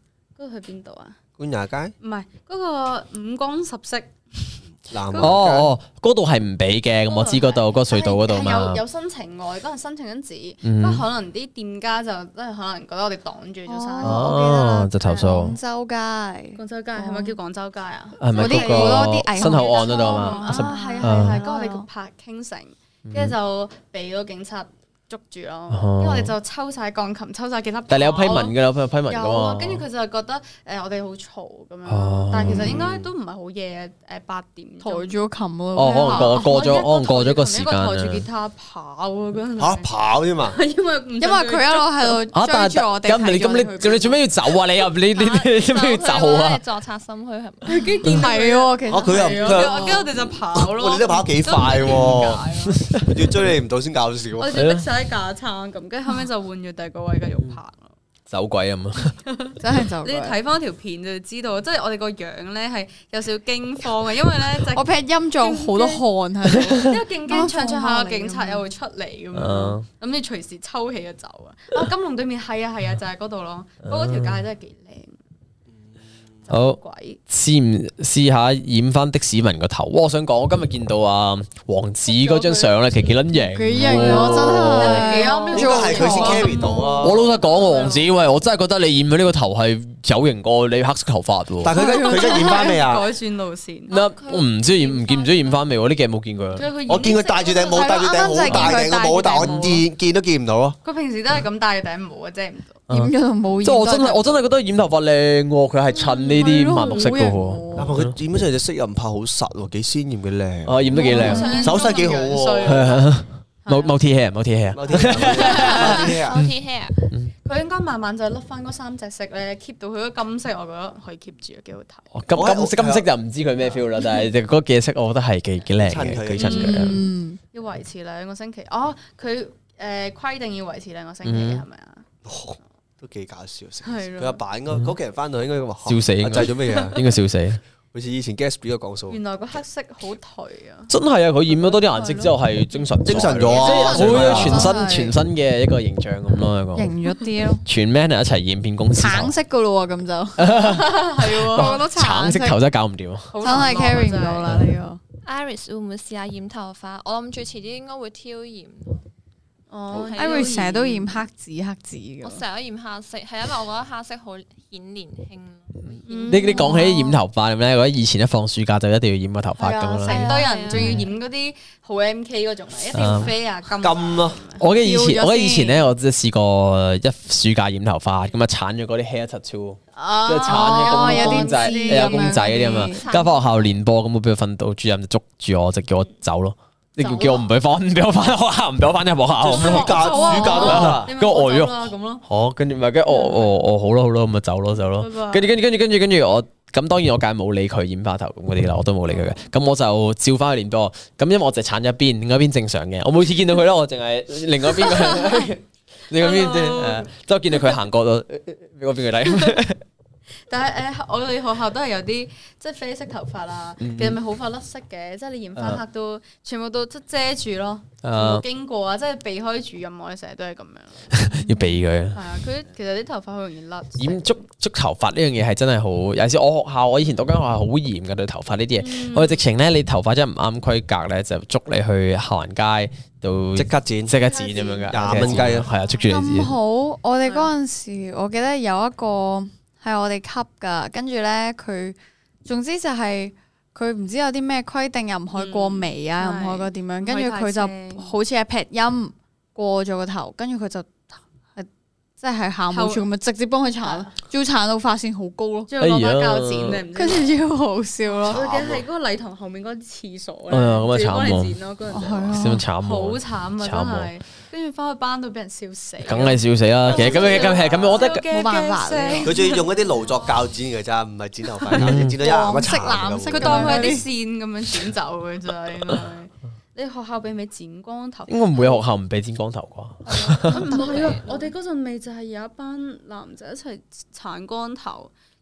嗰度去邊度啊？ 官也街唔係嗰個五光十色。 南哦哦，嗰度係唔俾嘅，咁我知嗰度嗰個隧道嗰度嘛。 有有申請喎，嗰陣申請緊紙， 嗯不過可能啲店家就真係可能覺得我哋擋住咗生意。 哦我記得啦就投訴廣州街， 廣州街係咪叫廣州街啊？ 係咪嗰啲嗰個好多啲藝新口岸嗰度啊啊嘛？ 係啊係啊，跟住我哋拍傾城，跟住就俾個警察捉住咯，因為我哋就抽晒鋼琴，抽晒吉他。 但係你有批文㗎，有批文㗎有啊， 嘛？ 跟住佢就係覺得誒我哋好嘈咁樣哦， 但係其實應該都唔係好夜誒八點鐘。 抬住個琴咯。 哦，可能過過咗，可能過咗個時間一個抬住吉啊。 他跑啊嗰陣。 嚇跑添嘛？ 因為唔因為佢一路喺度啊！但係追住我哋， 咁你咁你咁你做咩要走啊？你又你你你做咩要走啊？ 作賊心虛係咪？ 唔係喎，其實啊佢又係佢啊跟住我哋就跑咯。 哇你都跑得幾快喎！要追你唔到先搞笑。 我哋就逼晒啲架撐咁，跟住後尾就換咗第二個位繼續拍咯。 走鬼咁啊！ 真係就你睇翻條片就知道，即係我哋個樣咧係有少少驚慌嘅，因為咧就我劈音仲好多汗喺度。 因為勁驚唱唱下個警察又會出嚟咁樣， 啊咁你隨時抽起就走啊！啊，金龍對面係啊係啊，就係嗰度咯。不過嗰條街真係幾靚。 好鬼試唔試下染翻的士文個頭？哇！我想講，我今日見到啊王子嗰張相咧，其實幾撚型。 幾型啊！真係幾啱應該係佢先 carry 到啊！ 我老實講，王子喂，我真係覺得你染咗呢個頭係有型過你黑色頭髮喎。 但係佢而家佢而家染翻未啊？ 改轉路線。 嗱，我唔知染唔見唔知染翻未喎？呢幾日冇見佢。 我見佢戴住頂帽，戴住頂好大頂嘅帽，但係我見見都見唔到咯。 佢平時都係咁戴頂帽啊，遮唔到。 染咗就冇染。 即係我真係我真係覺得染頭髮靚喎，佢係襯呢啲墨綠色嘅喎。 但係佢染咗出嚟隻色又唔怕好實喎，幾鮮豔嘅靚。 啊，染得幾靚， 手勢幾好喎。 係啊，multi hair，multi hair。 某啲嘢啊 O T hair 佢應該慢慢就甩翻嗰三隻色咧，keep 到佢嗰金色，我覺得可以 keep 住，幾好睇。 哦金金色金色就唔知佢咩 feel 啦，但係嗰幾隻色我覺得係幾幾靚嘅， 襯佢幾襯佢啊。 嗯， 要維持兩個星期。哦，佢誒規定要維持兩個星期嗯係咪啊？ 都幾搞笑。 係咯佢阿爸應該嗰期人翻到應該話笑死應該阿仔做咩嘢啊？ 應該笑死。 好似以前 Gatsby 嗰個講數。 原來個黑色好頹啊！ 真係啊！佢染咗多啲顏色之後係精神精神咗啊即係好係啊全新真係全新嘅一個形象咁咯，一個型咗啲咯。 全 man 一齊染變公司頭橙色噶咯喎，咁就係喎， 個個都橙色頭真係搞唔掂啊！ 好真係 carry 唔到啦呢個。 Iris 會唔會試下染頭髮？我諗住遲啲應該會挑染。 哦係 Iris 成日都染黑紫黑紫嘅。 我成日都染黑色，係因為我覺得黑色好顯年輕。 嗯你你講起染頭髮咧，我覺得以前一放暑假就一定要染個頭髮係啊， 咁啦。 成堆人仲要染嗰啲好 M K 嗰種啊，一定要啡啊金金咯， 我嘅以前， 跳咗我嘅以前咧， 先我即係試過一暑假染頭髮，咁啊鏟咗嗰啲 hair tattoo， 啊即係鏟咗哦有啲公公仔， 字有公仔嗰啲啊嘛。 咁樣跟住翻學校練波，咁我俾個訓導主任就捉住我，就叫我走咯。你叫叫我唔俾翻，唔俾我翻學校，唔俾我翻入學校咁咯。 暑假暑假都得啊。 你咪跟住我走啦咁咯。 好，跟住咪跟住我我我好咯好咯，咁咪走咯走咯拜拜。 跟住跟住跟住跟住跟住我咁當然我梗係冇理佢染花頭咁嗰啲啦，我都冇理佢嘅。咁我就照翻去練波。咁因為我就鏟咗一邊，另外一邊正常嘅。我每次見到佢咧，我淨係另外一邊個，另外一邊即係誒，即係我見到佢行過到俾我邊佢睇。 但係誒，我哋學校都係有啲即係啡色頭髮啊，其實咪好快甩色嘅，即係你染翻黑都全部都即係遮住咯，冇經過啊，即係避開主任，我哋成日都係咁樣。 要避佢。 係啊，佢其實啲頭髮好容易甩。 染捉捉頭髮呢樣嘢係真係好，有時我學校我以前讀間學校好嚴嘅對頭髮呢啲嘢，我哋直情咧你頭髮真係唔啱規格咧，就捉你去行街度即刻剪， 即刻剪咁樣噶， 廿蚊雞啊係啊，捉住你咁剪。 好，我哋嗰陣時，我記得有一個係我哋級噶，跟住咧佢，總之就係佢唔知有啲咩規定，又唔可以過眉啊，又唔可以過點樣，跟住佢就好似係劈音過咗個頭，跟住佢就係即係校務處咁樣直接幫佢鏟，仲要鏟到髮線好高咯， 仲要攞把鉸剪咧，唔知跟住超好笑咯。 我記得係嗰個禮堂後面嗰啲廁所哎呀咁啊咧，仲要幫慘喎你剪咯，嗰陣係啊時先慘好喎， 慘啊，真慘喎係。跟住翻去班度俾人笑死， 梗係笑死啦。其實咁樣咁係咁樣，我覺得冇辦法呢佢仲要用一啲勞作鉸剪嘅咋，唔係剪頭髮鉸剪，剪到一牙一黃色殘藍色佢當佢係啲線咁樣剪走嘅真係。應該你學校俾咪剪光頭？ 應該唔會有學校唔俾剪光頭啩。 唔係啊！我哋嗰陣咪就係有一班男仔一齊鏟光頭，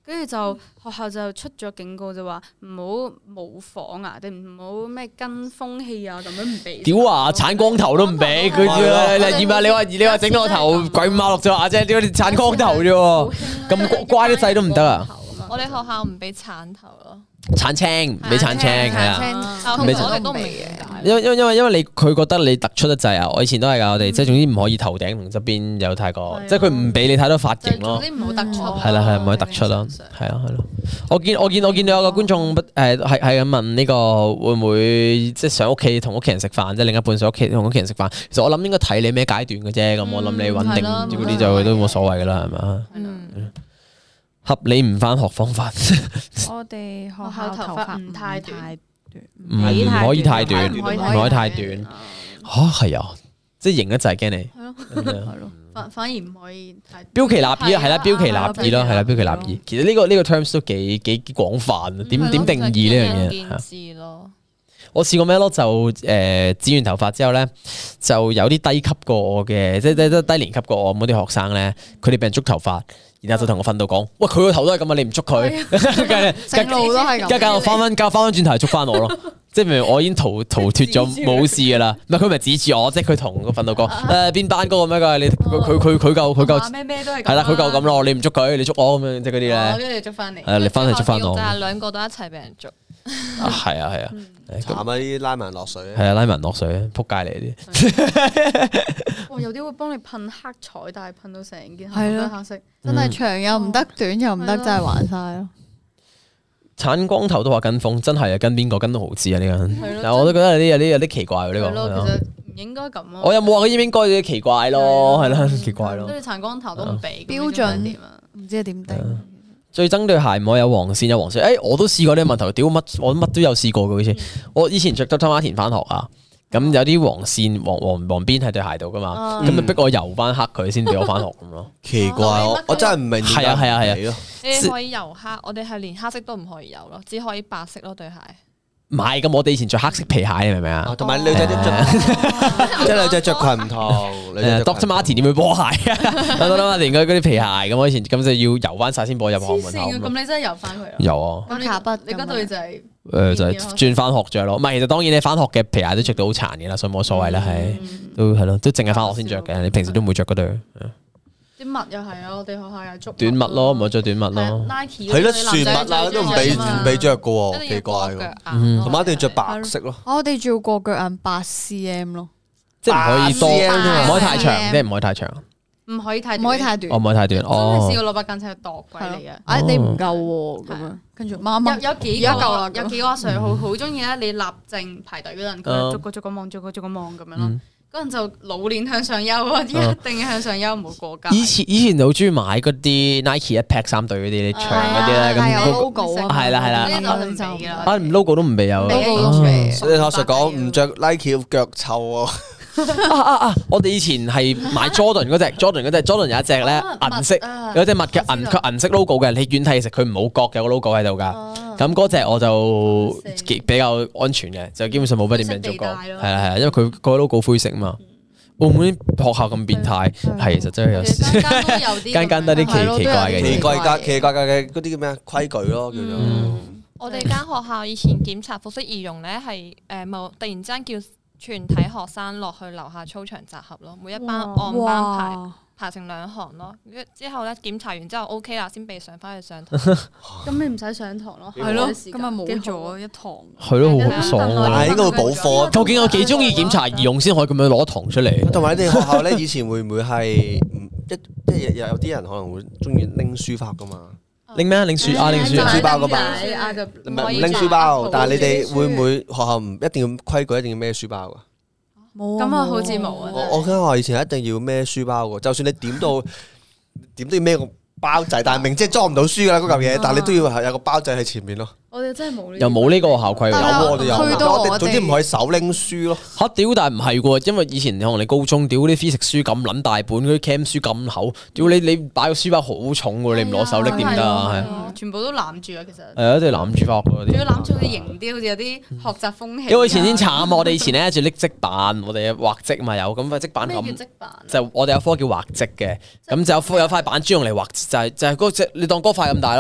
跟住就學校就出咗警告，就話唔好模仿啊，定唔好咩跟風氣啊，咁樣唔俾。 屌啊！鏟光頭都唔俾佢啫，你點啊？你話你話整到個頭鬼五馬六咗啊啫？點解你鏟光頭啫喎？咁乖啲仔都唔得啊！ 我哋學校唔俾鏟頭咯， 鏟青俾鏟青係啊。 但係我哋都唔明點解。 因為因為因為因為你佢覺得你突出得滯啊！我以前都係噶，我哋即係總之唔可以頭頂同側邊有太過，即係佢唔俾你太多髮型咯。 總之唔好突出。 係啦係唔可以突出咯，係啊係咯。我見我見我見到有個觀眾誒係係咁問呢個會唔會即係上屋企同屋企人食飯，即係另一半上屋企同屋企人食飯。其實我諗應該睇你咩階段嘅啫。咁我諗你穩定嗰啲就都冇所謂噶啦，係嘛？合理唔返學方法。 我哋學學校校頭髮頭髮唔太短短， 唔係唔可以太短，唔唔可以可以太短。嚇係啊，即係型得滯驚你。 係咯， 咁樣係咯。 反反而唔可以太標奇立異啊，係啦，標奇立啊異咯，係啦，標奇立異。其實呢個呢個 terms 都幾幾廣泛啊，點點定義呢樣嘢？ 見智咯。 我試過咩咯？就誒剪完頭髮之後咧，就有啲低級過我嘅，即係即係低年級過我嗰啲學生咧，佢哋俾人捉頭髮，然後就同我訓導講：喂，佢個頭都係咁啊，你唔捉佢， 成路都係咁。 跟住我翻翻教翻翻轉頭嚟捉翻我咯。即係明明我已經逃逃脫咗冇事噶啦，唔係佢咪指住我，即係佢同個訓導講誒邊班嗰個咩㗎？你佢佢佢佢夠佢夠咩咩都係係啦，佢夠咁咯，你唔捉佢，你捉我咁樣，即係嗰啲咧。 跟住捉翻嚟。 係你翻去捉翻我。 就係兩個都一齊俾人捉。 係啊係啊， 慘啊！啲拉埋落水。 係啊，拉文落水，撲街嚟啲。 哇！有啲會幫你噴黑彩，但係噴到成件係咯都黑色。 真係長又唔得，短又唔得，真係玩晒咯。 鏟光頭都話跟風，真係啊，跟邊個跟到豪知啊呢個人。 係咯但係我都覺得有啲有啲有啲奇怪喎呢係咯， 個。 其實唔應該咁咯。 我有冇話佢應唔應該有啲奇怪咯？係啦，奇怪咯。 跟住鏟光頭都唔俾標準點啊？ 唔知係點定？ 最憎對鞋唔可以有黃線，有黃線。誒，我都試過呢個問題，屌乜我乜都有試過嘅好似。我以前着 Doctor Martens 翻學啊，咁有啲黃線黃黃黃邊喺對鞋度噶嘛，咁咪逼我油翻黑佢先俾我翻學咁咯。 奇怪，我我真係唔明。 係啊係啊係啊。 你哋可以油黑，我哋係連黑色都唔可以油咯，只可以白色咯對鞋。 唔係咁，我哋以前着黑色皮鞋，你明唔明啊？ 同埋女仔都着，即係女仔着裙唔同。 誒 Doctor Martens 點會波鞋啊？Doctor Martens 嗰嗰啲皮鞋咁，我以前咁就要油翻晒先播入學門口。 咁你真係油翻佢啊？ 有啊。 咁你卡筆你嗰對就係誒就係轉翻學着咯。唔係，其實當然你翻學嘅皮鞋都着到好殘嘅啦，所以冇所謂啦，係都係咯，都淨係翻學先着嘅。你平時都唔會着嗰對。 啲襪又係啊，我哋學校有捉短襪咯，唔好着短襪咯。 Nike 係咯，船襪啊都唔俾唔俾着嘅喎，奇怪喎。 一定要過腳嗯同埋一定要着白色咯。 我哋仲要過腳眼八 cm 咯， 即係唔可以多， 八 cm 唔可以太長，即係唔可以太長， 唔可以太唔可以太短我。唔可以太短。 真係哦試，過攞把間尺去度鬼你啊！ 哎，你唔夠喎，咁樣跟住媽媽有有幾而家夠啦個有幾個阿 Sir 好好中意咧，你立正排隊嗰陣，佢逐個逐個望，逐個逐個望咁樣咯。嗰陣就老練向上優啊，一定要向上優，唔好過界。 以前以前好中意買嗰啲 Nike 一 pack 三對嗰啲，你長嗰啲咧，咁係有嗰個 logo 啊， 係啦係啦呢啲就唔俾㗎啦。 啊唔 logo 都唔俾有。 俾 logo 都唔俾。 所以我實講唔着 Nike 腳臭喎。 啊啊啊！我哋以前係買 Jordan 嗰隻，Jordan 嗰隻，Jordan 有一隻咧銀色，有隻襪嘅銀佢銀色 logo 嘅，你遠睇其實佢冇角有個 logo 喺度㗎。咁嗰隻我就比較安全嘅，就基本上冇乜點樣做過。係啦係啦，因為佢個 logo 灰色啊嘛。澳門啲學校咁變態，係其實真係有時間間都有啲間間都啲奇奇怪嘅嘢。 奇怪格奇怪格嘅嗰啲叫咩啊規矩咯，叫做。 我哋間學校以前檢查服飾儀容咧係誒冇突然之間叫全體學生落去樓下操場集合咯，每一班按班排哇！ 排成兩行咯。之後咧檢查完之後 O K 啦，先被上翻去上堂。 咁你唔使上堂咯， 係咯， 今今日冇咗一堂。 係咯，好好爽但係啊！ 應該會補課。 究竟有幾中意檢查儀容先可以咁樣攞堂出嚟？ 同埋你哋學校咧，以前會唔會係唔一即係有有啲人可能會中意拎書法噶嘛？ 拎咩啊？拎書啊？拎書書包㗎嘛唔唔係唔拎書包，但係你哋會唔會學校唔一定要規矩，一定要孭書包噶？ 冇咁啊，好似冇啊。 我我間學校以前一定要孭書包嘅，就算你點到點都要孭個包仔，但係明知係裝唔到書噶啦嗰嚿嘢，但係你都要係有個包仔喺前面咯。 我哋真係冇呢， 又冇呢個校規有喎。 喎，我哋有， 去到我哋我哋總之唔可以手拎書咯。 嚇屌！但係唔係喎，因為以前可能你高中屌啲 physics 書咁撚大本，嗰啲 chem 書咁厚，屌你你擺個書包好重喎，你唔攞手拎點得啊？係啊，全部都攬住啊，其實。 係啊，一定攬住翻學嗰仲要啲。 攬住好似型啲，好似有啲學習風氣。 因為以前先慘啊！我哋以前咧就拎積板，我哋畫積嘛有咁塊積板咩叫咁。 積板？ 就我哋有科叫畫積嘅，咁就有科有塊板專用嚟畫，就係就係嗰隻你當嗰塊咁大咯，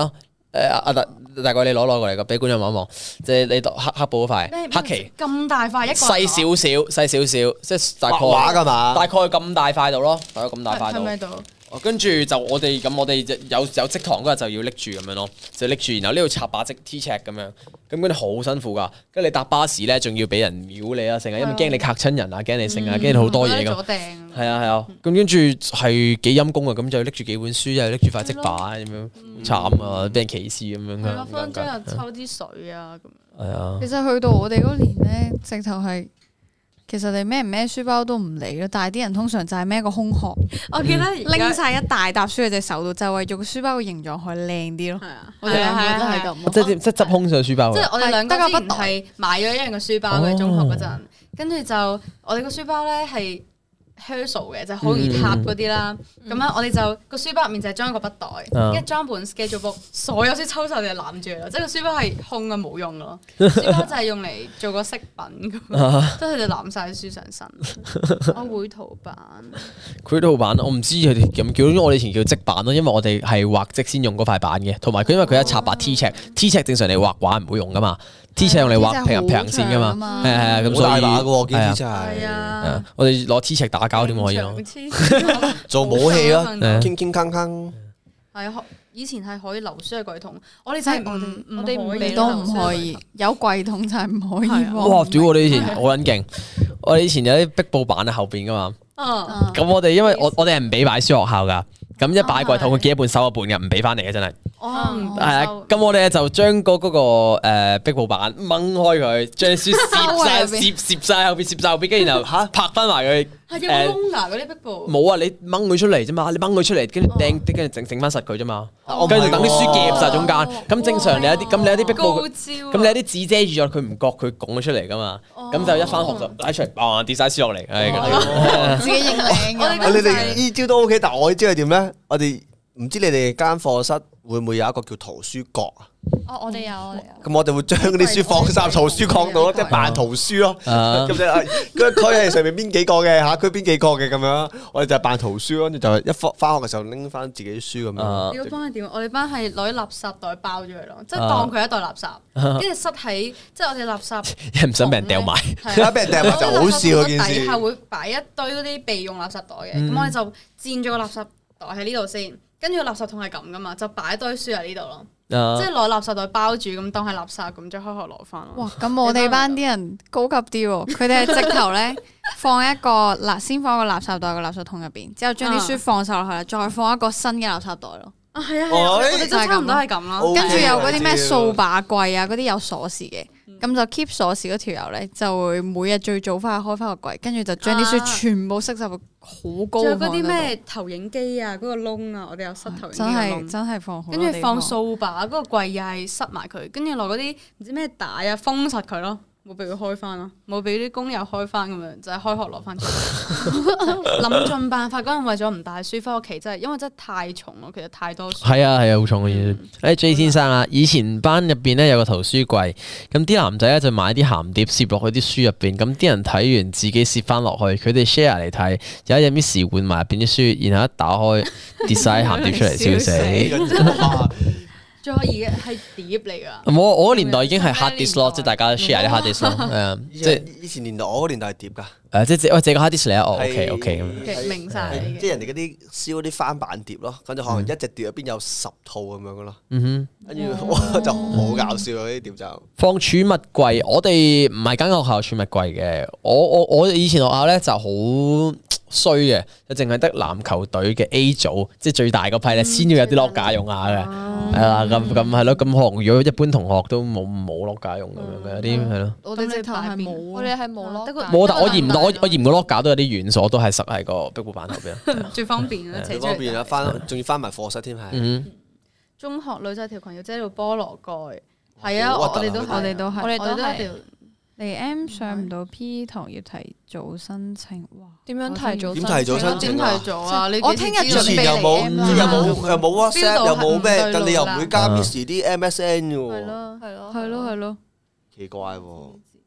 誒阿大大概你攞攞過嚟個，俾觀眾望一望，即係你黑黑布嗰塊黑旗咁大塊一個細少少，細少少，即係大概畫㗎嘛， 大概咁大塊度咯，大概咁大塊度。 係咪度？ 跟住就我哋咁，我哋有有職堂嗰日就要拎住咁樣咯，就拎住，然後呢度插把即 T 尺咁樣，咁嗰啲好辛苦噶。跟住你搭巴士咧，仲要俾人秒你啊，成日因為驚你嚇親人啊，驚你剩啊，驚你好多嘢咁。係啊係啊，咁跟住係幾陰功啊，咁就拎住幾本書，又拎住塊職板咁樣，慘啊，俾人歧視咁樣。 係咯，分鐘又抽啲水啊咁。 係啊。 其實去到我哋嗰年咧，直頭係。其實你孭唔孭書包都唔理咯，但係啲人通常就係孭個空殼。 我記得拎晒一大沓書喺隻手度，就係為咗個書包嘅形狀可以靚啲咯。係啊，我哋係啊兩個都係咁。 即係即係執空上書包。 即係我哋兩個之前得個筆袋係買咗一樣嘅書包嘅中學嗰陣，跟住就我哋個書包咧係。Herschel 嘅就好容易塌嗰啲啦，咁樣我哋就個書包入面就係裝一個筆袋，跟住裝本 schedule book，所有書抽晒我哋就攬住啦，即係個書包係空嘅冇用咯，書包就係用嚟做個飾品咁，即係佢哋攬晒書上身。我繪圖板， 繪圖板我唔知佢哋咁叫，因為我哋以前叫積板咯，因為我哋係畫則先用嗰塊板嘅，同埋佢因為佢一插把 T 尺，T 尺正常你畫畫唔會用噶嘛。T 尺用嚟畫平行平行線噶嘛，係係係咁，所以大把嘅喎，見 T 尺係啊， 我哋攞 T 尺打交點可以咯？ 做武器咯，傾傾鏗鏗。 係啊，以前係可以留書喺櫃桶，我哋真係唔我哋唔可以都唔可以，有櫃桶就係唔可以。 哇！屌我哋以前好撚勁，我哋以前有啲壁布板喺後邊噶嘛。咁我哋因為我我哋係唔俾擺書學校噶，咁一擺櫃桶佢寄一半收一半嘅，唔俾翻嚟嘅真係。 哦， 係啊，咁我哋就將嗰嗰個誒壁布板掹開佢，將書攝晒攝攝晒後邊，攝晒後邊，跟住然後嚇拍翻埋佢。 係有冇窿㗎嗰啲壁布？ 冇啊！你掹佢出嚟啫嘛，你掹佢出嚟，跟住掟，跟住整整翻實佢啫嘛。跟住等啲書夾晒中間。咁正常你有啲，咁你有啲壁布，咁你有啲紙遮住咗，佢唔覺佢拱咗出嚟噶嘛。咁就一翻學就拉出嚟，啊跌晒書落嚟。 自己認領嘅。 你哋呢招都 OK，但係我呢招係點咧？我哋唔知你哋間課室會唔會有一個叫圖書角啊？ 哦，我哋有，我哋有。 咁我哋會將啲書放晒圖書角度咯，即係扮圖書咯。咁就係嗰區係上面邊幾個嘅，下區邊幾個嘅咁樣。我哋就係扮圖書，跟住就一翻翻學嘅時候拎翻自己啲書咁樣。 你個班係點？我哋班係攞啲垃圾袋包咗佢咯，即係當佢一袋垃圾，跟住塞喺即係我哋垃圾。 唔想俾人掉埋， 而家俾人掉埋就好笑嗰件事。 底下會擺一堆嗰啲備用垃圾袋嘅，咁我哋就佔咗個垃圾袋喺呢度先，跟住個垃圾桶係咁噶嘛，就擺一堆書喺呢度咯。即係攞垃圾袋包住，咁當係垃圾咁，再開學攞翻咯。 哇！咁我哋班啲人高級啲喎，佢哋係直頭咧放一個垃，先放一個垃圾袋個垃圾桶入邊，之後將啲書放晒落去啦，再放一個新嘅垃圾袋咯。 啊，係啊係啊，我哋都差唔多係咁咯。 跟住有嗰啲咩掃把櫃啊，嗰啲有鎖匙嘅，咁就 keep 鎖匙嗰條友咧，就會每日最早翻去開翻個櫃，跟住就將啲書全部塞入個好高。仲有嗰啲咩投影機啊，嗰個窿啊，我哋有塞投影機真係真係放好。 跟住放掃把嗰個櫃又係塞埋佢，跟住落嗰啲唔知咩帶啊封實佢咯。冇俾佢開翻咯，冇俾啲工友開翻咁樣，就係、是、開學攞翻出嚟。諗盡辦法嗰陣，為咗唔帶書翻屋企，真係因為真係太重咯，其實太多書。 係啊係啊，好重嘅嘢。誒 J 先生啊，以前班入邊咧有個圖書櫃，咁啲男仔咧就買啲鹹碟攝落去啲書入邊，咁啲人睇完自己攝翻落去，佢哋 share 嚟睇，有一日 Miss 換埋入邊啲書，然後一打開跌晒鹹碟出嚟，笑死。 仲可以係碟嚟噶， 我我嗰年代已經係 hard disk 咯，即係大家 share 啲 hard disk 咯，誒，即係以前年代我嗰年代係碟噶， 誒，即係喂借個 hard disk 嚟啊，哦 OK OK 咁， 明晒， 即係人哋嗰啲燒嗰啲翻版碟咯，跟住可能一隻碟入邊有十套咁樣噶咯， 嗯哼， 跟住就好搞笑嗰啲碟就放儲物櫃，我哋唔係間學校儲物櫃嘅，我我我以前學校咧就好衰嘅，就淨係得籃球隊嘅 A 組，即係最大嗰批咧，先要有啲 lock 架用下嘅，係啦，咁咁係咯，咁可能如果一般同學都冇冇 lock 架用咁樣嘅，有啲係咯。 我哋直頭係冇， 我哋係冇 lock 架。 冇，但我嫌我我嫌個 lock 架都有啲軟鎖，都係塞喺個壁布板後邊。 最方便啦， 最方便啦，翻仲要翻埋課室添係。 中學女仔條裙要遮到菠蘿蓋，係啊，我哋都我哋都係， 我哋都係。 嚟 M 上唔到 P 堂要提早申請，哇！ 點樣提早？ 點提早申請點提早啊？ 我聽日準備又冇，又冇又冇 WhatsApp，又冇咩，但你又唔會加 Miss 啲 M S N 嘅喎。 係咯，係咯， 係咯，係咯。 奇怪喎！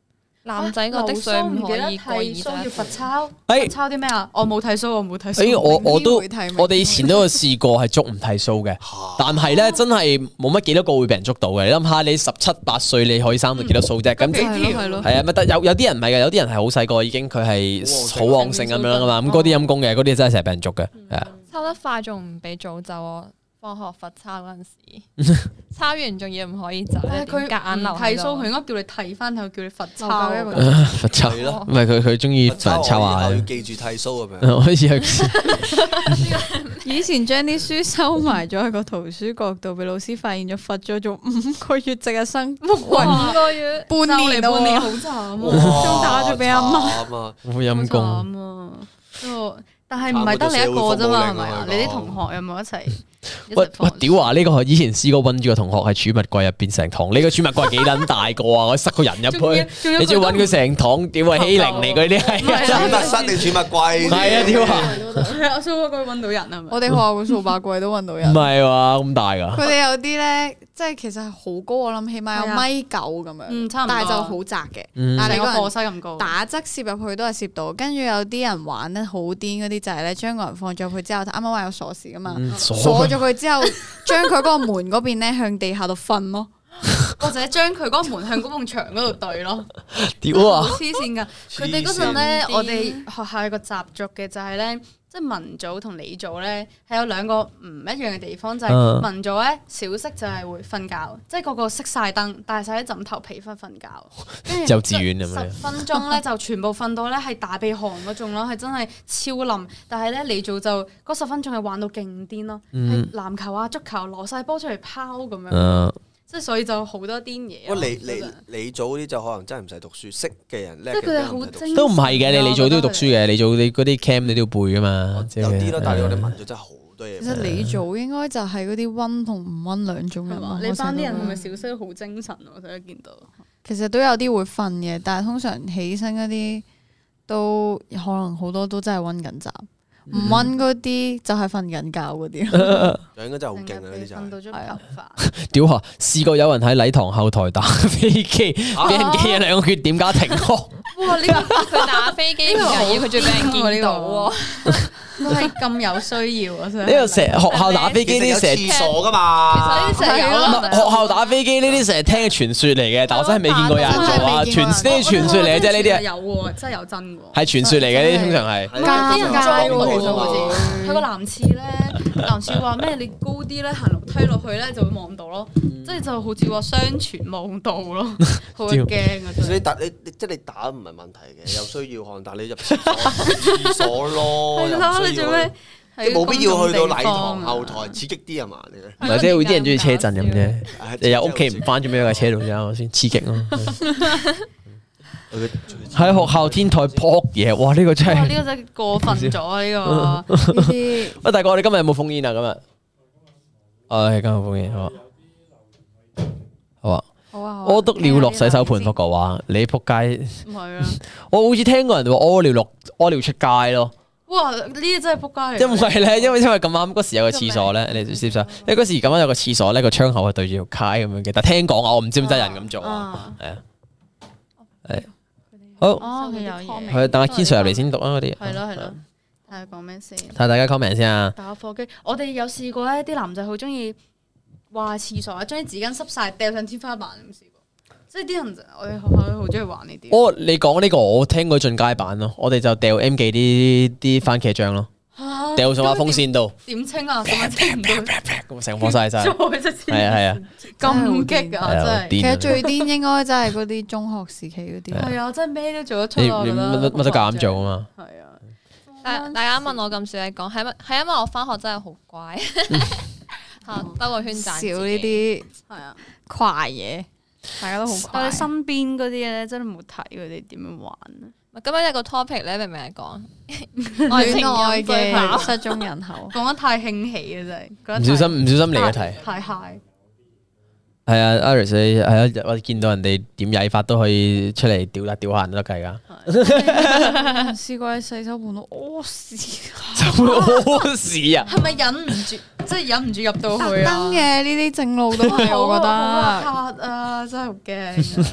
男仔個的水唔可以過二剃須要罰抄， 誒罰抄啲咩啊？我冇剃須，我冇剃須。 誒，我我都明天會剃我哋以前都有試過係捉唔剃須嘅，但係咧真係冇乜幾多個會俾人捉到嘅。你諗下，你十七八歲你可以生到幾多須啫？咁即係係咯係啊，咪得有有啲人唔係嘅，有啲人係好細個已經佢係好旺盛咁樣噶嘛。咁嗰啲陰公嘅，嗰啲真係成日俾人捉嘅，係啊。 抄得快仲唔俾早走啊！放學罰抄嗰陣時，抄完仲要唔可以走， 但係佢夾硬留剃須，佢應該叫你剃翻佢，叫你罰抄留一個罰抄係咯唔係佢佢中意罰人抄下要嘅。 記住剃須咁樣。 可以去以前將啲書收埋咗喺個圖書角度，俾老師發現咗，罰咗做五個月值日生， 五個月半年就嚟半年咯好慘啊！ 仲打咗俾阿媽慘啊！ 好陰公。 好慘啊！不但係唔係得你一個啫嘛，係咪啊？你啲同學有冇一齊？ 喂喂，屌啊！呢個以前試過温住個同學喺儲物櫃入邊成堂，呢個儲物櫃幾撚大個啊！我塞個人入去，你仲要揾佢成堂，屌啊欺凌嚟嗰啲係。 儲物室定儲物櫃？ 係啊，屌啊！ 係啊，蘇哥揾到人係咪？ 我哋學校個掃把櫃都揾到唔人。 係話咁大㗎。 佢哋有啲咧，即係其實係好高，我諗起碼有米九咁樣， 嗯差唔多但係就好窄嘅。 嗯但係你個成個課人室咁高。 打側攝入去都係攝到，跟住有啲人玩得好癲嗰啲就係咧，將個人放咗入去之後，啱啱話有鎖匙噶嘛， 嗯鎖鎖咗佢之後，將佢嗰個門嗰邊咧向地下度瞓咯。 或者將佢嗰個門向嗰埲牆嗰度對咯， 屌啊！ 好黐線㗎！佢哋嗰陣咧，我哋學校有個習俗嘅就係咧，即係文組同理組咧係有兩個唔一樣嘅地方，就係、 嗯文組咧小息就係會瞓覺，即係個個熄晒燈，帶晒啲枕頭被瞓瞓覺，跟住幼稚園咁樣十分鐘咧就全部瞓到咧係大鼻鼾嗰種咯，係真係超冧。但係咧理組就嗰十分鐘係玩到勁癲咯，係、 嗯籃球啊、足球攞晒波出嚟拋咁樣。 嗯即係所以就好多癲嘢咯。 不過你真係你你組嗰啲就可能真係唔使讀書，識嘅人叻嘅即係佢哋好人唔使讀書精都唔係嘅，你你組都要讀書嘅，你組你嗰啲 cam 你都要背噶嘛。即係有啲咯，但係我哋文組真係好多嘢。 其實理組應該就係嗰啲温同唔温兩種人咯係嘛？。你班啲人係咪我成日小息都好精神啊？我成日見到。 其實都有啲會瞓嘅，但係通常起身嗰啲都可能好多都真係温緊習，唔温嗰啲就係瞓緊覺嗰啲。 就應該真係好勁啊！嗰啲就係瞓到張頭髮。 屌下，試過有人喺禮堂後台打飛機，俾人記咗兩個缺點加停學。 哇！呢個佢打飛機唔緊要，佢仲俾人見到喎。 都係咁有需要啊！呢呢個成日學校打飛機呢啲成日廁所噶嘛。 其實呢啲成日有唔啦係。學校打飛機呢啲成日聽嘅傳說嚟嘅，但我真係未見過有人做啊！傳呢啲傳說嚟嘅啫，呢啲係有喎，真係有真喎。 係傳說嚟嘅，呢啲通常係。 啲人裝街喎， 喎其實好似佢個男廁咧，男廁話咩？你高啲咧，行樓梯落去咧就會望到咯，即係就好似話雙全望到咯，好驚啊！真係。 其實你打你你即係你打唔係問題嘅，有需要看，但係你入廁所廁所咯， 係咯， 又唔需要你做咩？ 即係冇必要去到禮堂公眾地方啊後台刺激啲係嘛？你唔係即係有啲人中意車震咁啫， 唉日日屋企唔翻，做咩喺架車度啫？先刺激咯。 佢喺學校天台撲嘢，哇！呢個真哇！ 係呢個真係過分咗啊！呢個呢啲喂，大哥，我哋今日有冇封煙啊？今日，誒，今日封煙好啊，好啊。 好啊，好啊屙督尿落洗手盆，福哥話你仆街。 唔係啊！ 我好似聽過人哋話屙尿落屙尿出街咯。 哇！呢啲真係仆街嚟。 因為咧，因為因為咁啱嗰時有個廁所咧，你知唔知啊？因為嗰時咁啱有個廁所咧，個窗口係對住條街咁樣嘅。但聽講啊，我唔知唔知有人咁做啊。 啊！ 係啊，係好， 哦，佢有嘢。 係等阿 Ken Sir 入嚟先讀啊嗰啲。 係咯係咯，睇下講咩先。 睇下大家 comment 先啊。 打火機，我哋有試過咧，啲男仔好中意話廁所啊，將啲紙巾濕晒掉上天花板，有冇試過？即係啲人，我哋學校都好中意玩呢啲。 哦，你講呢個我聽過進階版咯，我哋就掉 M 記啲啲番茄醬咯， 嚇掉上把風扇度， 點清啊？咁樣清唔到， 咁成火晒晒。 再一次係啊係啊， 咁激啊！ 係啊， 真係。 其實癲啊！ 最癲應該真係嗰啲中學時期嗰啲。 係啊，真係咩都做得出你啊！我覺得你乜乜都夠膽做啊嘛。 係啊， 大大家問我咁少嘢講，係咪係因為我翻學真係好乖，嚇兜個圈賺少自己呢啲係啊。 快嘢，大家都好快但係。身邊嗰啲咧，真係冇睇佢哋點樣玩啊！ 今日有個 topic 咧，明明係講戀愛情人嘅失蹤人口， 講得太興起啊！真係覺得唔小心唔小心嚟嘅題。 太 high。 係啊，Iris 你係啊，我見到人哋點曳法都可以出嚟屌啦屌下人都得計㗎。 試過喺洗手盆度屙屎， 就會屙屎啊！ 係咪忍唔住？即係忍唔住入到特去啊！ 登嘅呢啲正路都係，我覺得。 好核突啊！真係好驚啊！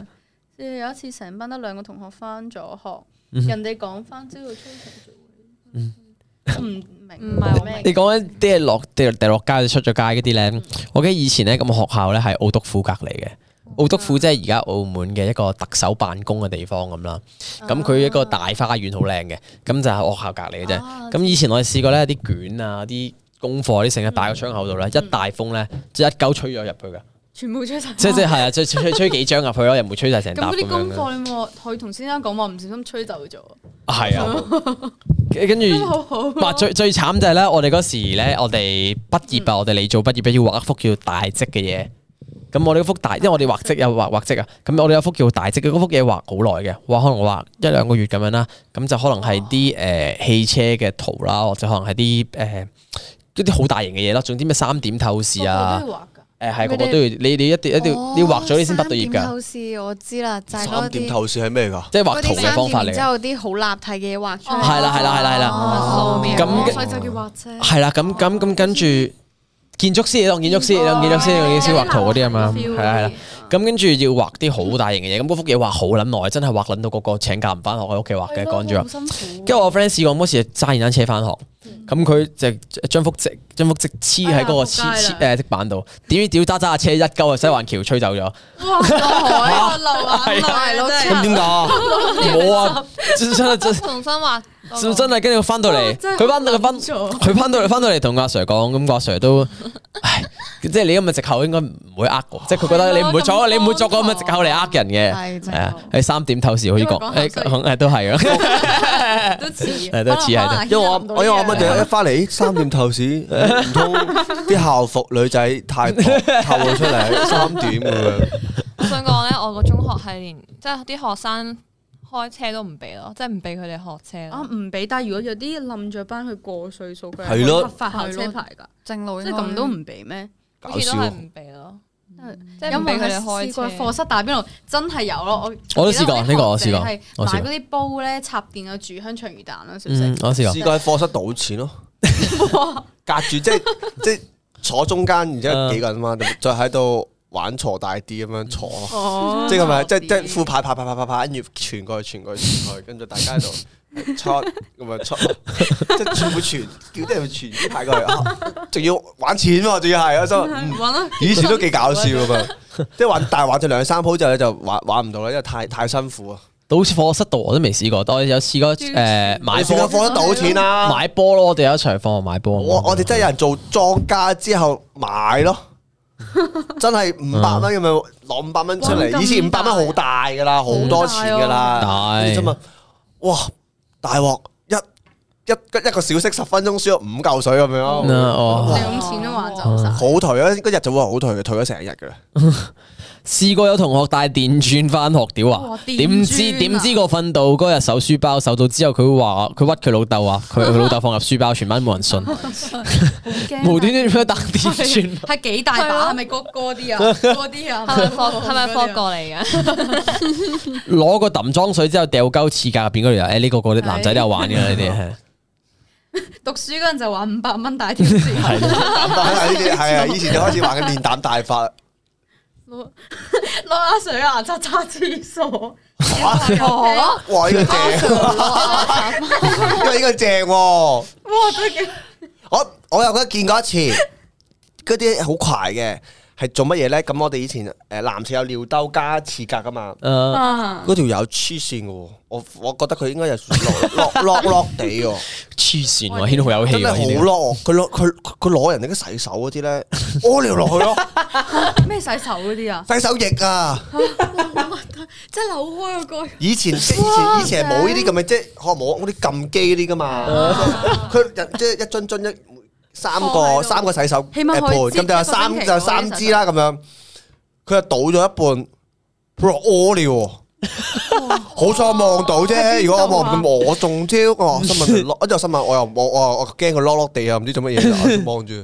有一次成班得兩個同學翻咗學， 嗯人哋講翻朝到操場做。 嗯我唔明， 唔係咩？ 你講緊啲係落掉掉落街出咗街嗰啲咧，我記得以前咧咁學校咧係澳督府隔離嘅。澳督府即係而家澳門嘅一個特首辦公嘅地方咁啦，咁佢一個大花園好靚嘅，咁就係學校隔離嘅啫。咁以前我哋試過咧，啲卷啊、啲功課啲成日擺個窗口度咧，一大風咧，即係一鳩吹咗入去㗎。 全部吹晒。 即即係啊，吹吹吹幾張入去咯，又唔會吹晒成沓咁樣咁嗰啲功嘅。 課你冇可以同先生講話，唔小心吹走咗。 係啊，跟住好好喎。 哇最最慘就係咧，我哋嗰時咧，我哋畢業啊，我哋嚟做畢業咧，要畫一幅叫大積嘅嘢。咁我哋嗰幅大，因為我哋畫積有畫畫積啊，咁我哋有幅叫大積嘅，嗰幅嘢畫好耐嘅，畫可能畫一兩個月咁樣啦，咁就可能係啲誒汽車嘅圖啦，或者可能係啲誒一啲好大型嘅嘢啦，總之咩三點透視啊，誒係個個都要，你你一定一定要你畫咗你先畢到業三點㗎， 透視我知啦，就係嗰三點啲透視係咩㗎？ 即係畫圖嘅方法嚟然之嘅， 後啲好立體嘅嘢畫出嚟。 係啦係啦係啦係啦， 哦咁所以就叫畫啫。 係啦，咁咁咁跟住。建築師，你當建築師，你當建築師，你建築師畫圖嗰啲啊嘛，係啦係啦。咁跟住要畫啲好大型嘅嘢，咁嗰幅嘢畫好撚耐，真係畫撚到個個請假唔翻學喺屋企畫嘅，趕住畫。跟住我 friend 試過嗰時揸電單車翻學，咁佢就將幅積將幅積黐喺嗰個黐黐誒積板度，點知屌揸揸下車一鳩啊西環橋吹走咗。 哇！海流眼淚咯，真係。 咁點解啊？ 冇啊，真真真重新畫嗰個。 真係跟住翻到嚟，佢翻到佢翻佢翻到嚟翻到嚟同阿 Sir 講，咁阿 Sir 都，唉，即係你咁嘅藉口應該唔會呃我，即係佢覺得你唔會作你唔會作個咁嘅藉口嚟呃人嘅， 係係啊，喺三點透視好似講，誒誒都係啊， 都似， 係都似係因為我我因為我乜嘢一翻嚟三點透視，唔通啲校服女仔太薄透咗出嚟三點咁樣。 我想講咧，我個中學係連即係啲學生開車都唔俾咯，即係唔俾佢哋學車啊咯。 唔俾，但係如果有啲冧咗班去過歲數，佢係咯合法考車牌㗎， 正路即係咁都唔俾咩？ 搞笑好似都係唔俾咯，即係有冇唔俾佢哋試過開車。 課室打邊爐？真係有咯，我我都試過呢個我試過係我試過買嗰啲煲咧插電有煮香腸魚蛋啦，小嗯食。， 我試過試。過喺課室賭錢咯，隔住即係即係坐中間，然之後幾個人嘛，再喺度玩鋤大啲咁樣坐， 哦即係咁樣，即係即係副牌牌牌牌牌牌，跟住傳過去傳過去傳過去，跟住大家喺度出咁樣出，即係全部傳，叫啲人傳啲牌過去，啊仲要玩錢喎，仲要係我心諗嗯玩啦， 以前都幾搞笑噶嘛，即係玩，但係玩咗兩三鋪之後咧就玩玩唔到啦，因為太太辛苦啊。 到好似課室度我都未試過，但我有試過誒買你試過波課室賭錢啦？ 買波咯，我哋有一場課買波。 我我哋真係有人做莊家之後買咯，真係五百蚊咁樣攞五百蚊出嚟。以前五百蚊好大噶啦，好多錢噶啦。 大你啫嘛，哇！大鑊一一一個小息十分鐘輸咗五嚿水咁樣咯， 哦兩錢都玩走晒。 好頹啊！嗰日就會好頹嘅，頹咗成日噶啦。 試過有同學帶電鑽翻學屌啊哇！電點知鑽啊點知個訓導嗰日搜書包，搜到之後佢話佢屈佢老豆話佢佢老豆放入書包，全班冇人信，無端端點樣帶電鑽？ 係幾大把？係咪嗰嗰啲啊？嗰啲啊？ 係咪科係咪科過嚟嘅？ 攞個揼裝水之後掉鳩廁格入邊嗰度有，誒呢個個啲男仔都有玩嘅呢啲係。 讀書嗰陣就玩五百蚊大條線， 膽膽呢啲係啊，以前就開始玩緊練膽大法。 攞攞阿水牙刷刷廁所。 哇！呢個正，因為呢個正喎。 哇！真係幾我我又覺得見過一次，嗰啲好快嘅係做乜嘢咧？咁我哋以前誒男廁有尿兜加廁格噶嘛， 誒啊！ 嗰條友黐線嘅喎，我我覺得佢應該有落落落落地喎， 黐線喎，軒好有氣真係喎，呢好落。佢攞佢佢攞人哋啲洗手嗰啲咧，屙尿落去咯， 咩洗手嗰啲啊？ 洗手液啊！ 即係扭開個蓋。 以前即係以前以前係冇呢啲咁嘅，即係可能冇嗰啲撳機嗰啲噶嘛。佢人即係一樽樽一三個三個洗手起碼誒盤， 可以咁就有三就有三支啦咁樣。佢就倒咗一半，佢話屙尿喎。好彩我望到啫，如果我望唔到我中招，我心問落，一陣心問我又我我我驚佢落落地啊，唔知做乜嘢，望住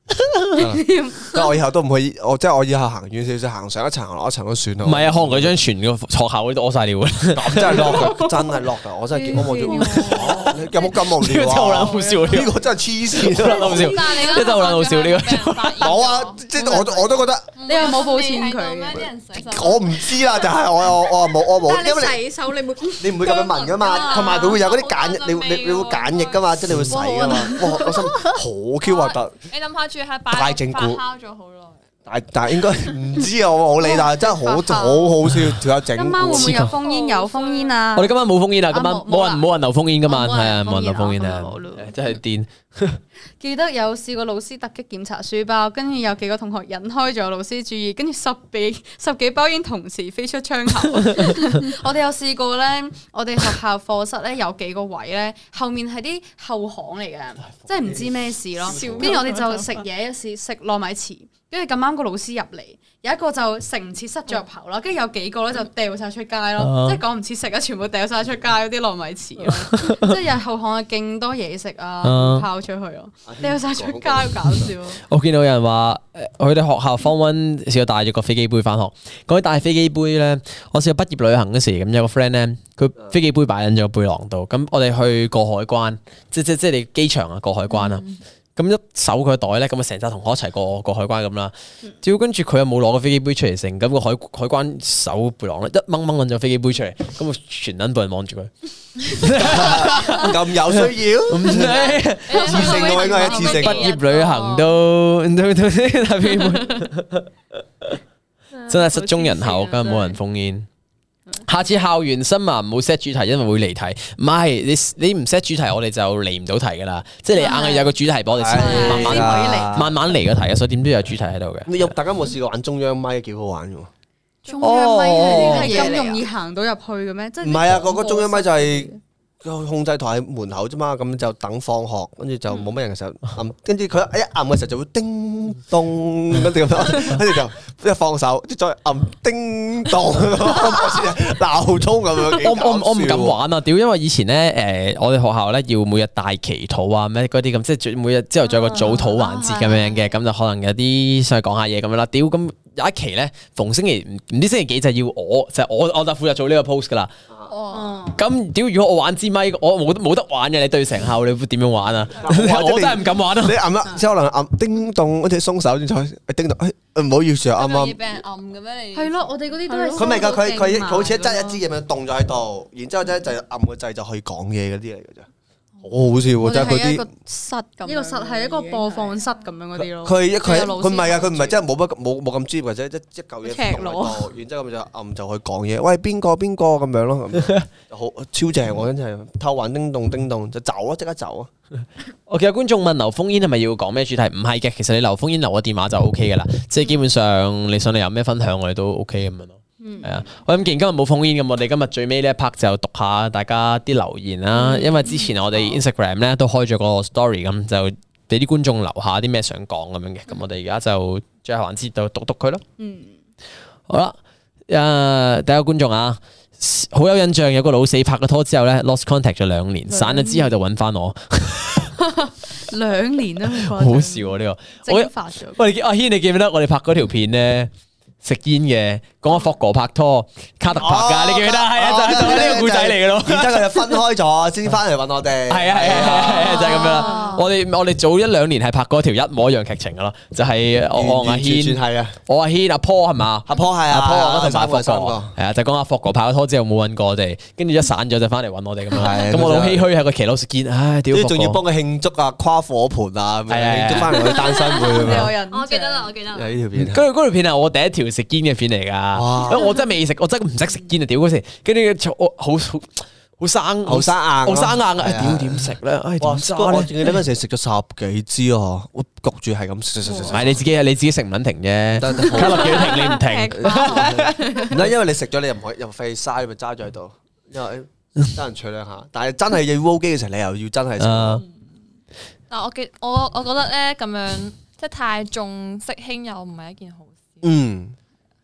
即係我以後都唔可以，我即係我以後行遠少少，行上一層行落一層都算啦。 唔係啊，可能佢張全個學校嗰啲屙晒尿啦。 真係 lock 㗎，真係 lock 㗎，我真係見我望住，有冇咁無呢個真係好聊啊？ 撚好笑， 呢個真係黐線啊！ 好笑， 但係你真係好撚好笑呢個。 冇啊，即係我我都覺得你有冇報錢佢啲人洗手我唔知啦，就係我我我冇我冇，因為洗手你會你唔會咁樣聞噶嘛，同埋佢會有嗰啲梘液，你你你會梘液噶嘛，即係你會洗噶嘛。哇！我心好 Q 核突。 你諗下住喺擺大整蠱發酵咗好耐。 但但應該唔知啊，我冇理，但係真係好好好笑，條友整今晚會唔會有蠱。 封煙？有封煙啊！ 我哋今晚冇封煙啊，今晚啊冇冇人冇人留封煙今晚， 冇係啊， 人冇人留封煙封煙啊啊咁就好咯， 真係癲。 記得有試過老師突擊檢查書包，跟住有幾個同學引開咗老師注意，跟住十幾十幾包煙同時飛出窗口。我哋有試過咧，我哋學校課室咧有幾個位咧，後面係啲後巷嚟嘅，即係唔知咩事咯。跟住我哋就食嘢，試食糯米糍，跟住咁啱個老師入嚟，有一個就食唔切塞咗入口啦，跟住有幾個咧就掉晒出街咯，即係講唔切食啊，全部掉晒出街嗰啲糯米糍咯，即係有後巷啊勁多嘢食啊，拋出去咯。掉晒出街，好搞笑。 我見到有人話，誒佢哋學校 Form One 試過帶咗個飛機杯翻學。講起帶飛機杯咧，我試過畢業旅行嗰時，咁有個 friend 咧，佢飛機杯擺喺咗背囊度。咁我哋去過海關，即即即係你機場啊過海關啊。咁一搜佢個袋咧，咁啊成紮同學一齊過過海關咁啦。只要跟住佢又冇攞個飛機杯出嚟成，咁個海海關搜背囊咧，一掹掹揾咗飛機杯出嚟，咁啊全撚部人望住佢。 咁有需要？ 唔使一次性嘅應該係一次性。 畢業旅行都都都帶飛機杯，真係失蹤人口，梗係冇人封煙。下次校園新聞唔好 set 主題，因為會離題。唔係你你唔 set 主題，我哋就離唔到題噶啦。即係你硬係有個主題，我哋先慢慢慢慢慢嚟個題啊。所以點都有主題喺度嘅。 你有大家有冇試過玩中央咪？幾好玩嘅喎。 中央咪係係咁容易行到入去嘅咩？即係唔係啊，嗰個中央咪就係個控制台喺門口啫嘛，咁就等放學，跟住就冇乜人嘅時候按，跟住佢一按嘅時候就會叮咚，跟住咁樣，跟住就一放手，即再按叮咚，鬧鐘咁樣。 我我我唔敢玩啊！屌，因為以前咧誒，我哋學校咧要每日大祈禱啊，咩嗰啲咁，即係每日之後仲有個早禱環節咁樣嘅，咁就可能有啲上去講下嘢咁樣啦。屌咁。有一期咧，逢星期唔知星期幾就要我，就係、我我就負責做呢個 post 噶啦。 哦， 咁屌！如果我玩支咪，我冇冇得玩嘅。你對成校，你會點樣玩啊？我真係唔敢玩啊！ 你按啦，即係可能按叮咚，跟住鬆手先再叮咚。誒唔好意思啊，啱啱。 俾人暗嘅咩？你係咯，我哋嗰啲都係佢咪㗎？佢佢佢好似一揸一支咁樣凍咗喺度，然之後咧就按個掣就可以講嘢嗰啲嚟嘅啫。好好笑喎！ 我即係佢啲哋係一個。室咁樣， 呢個室係一個播放室咁樣嗰啲咯。 佢一佢有老師佢唔係啊！佢唔係真係冇乜冇冇咁專業，或者一一嚿嘢赤凍喺裸度，然之後咁就按就去講嘢。喂，邊個邊個咁樣咯？好超正喎！真係偷玩叮咚叮咚就走啊！即刻走啊！ 我見有觀眾問留封煙係咪要講咩主題？唔係嘅，其實你留封煙留個電話就 O K 噶啦。即係基本上你想你有咩分享，我哋都 O K 咁樣咯。係啊，我諗既然今日冇封煙咁，我哋今日最尾呢一 part 就讀下大家啲留言啦。因為之前我哋 Instagram 咧都開咗個 story 咁，就俾啲觀眾留下啲咩想講咁樣嘅。咁我哋而家就最後環節就讀讀佢咯。 嗯， 好啦，誒第一個觀眾啊，好有印象，有個老死拍咗拖之後咧 lost contact 咗兩年，散咗之後就揾翻我。 兩年啦， 好笑啊！呢個我蒸發咗。 喂，阿軒，你記唔記得我哋拍嗰條片咧？食煙嘅，講阿霍哥拍拖，卡特拍噶，你記唔記得？係啊，就係呢個故仔嚟嘅咯。 然之後佢就分開咗，先翻嚟揾我哋。 係啊係啊係啊，就係咁樣啦。我哋我哋早一兩年係拍嗰條一模一樣劇情噶咯，就係我阿軒， 係啊， 我阿軒阿坡係嘛？ 阿坡係啊， 阿坡嗰同陣拍霍哥，係啊，就講阿霍哥拍咗拖之後冇揾過我哋，跟住一散咗就翻嚟揾我哋咁樣。咁我好唏噓喺個騎樓食煙，唉屌！ 仲要幫佢慶祝啊，跨火盆啊，慶祝翻嚟我哋單身會咁樣。 有人， 我記得啦，我記得啦。 係呢條片。 嗰嗰條片係我第一條食煙嘅片嚟㗎。因為我真係未食，我真係唔識食煙啊！屌嗰時，跟住我好好好生， 好生硬， 好生硬啊！屌點食咧？唉點揸咧？ 我記得嗰陣時食咗十幾支啊，我焗住係咁食食食食。 唔係你自己，你自己食唔撚停啫。卡落幾停你唔停。 唔得，因為你食咗你又唔可以又費嘥，咪揸咗喺度，因為得人取兩下。但係真係要 roll 機嘅時候，你又要真係食。 但我記我我覺得咧咁樣即係太重色輕友唔係一件好事。 嗯。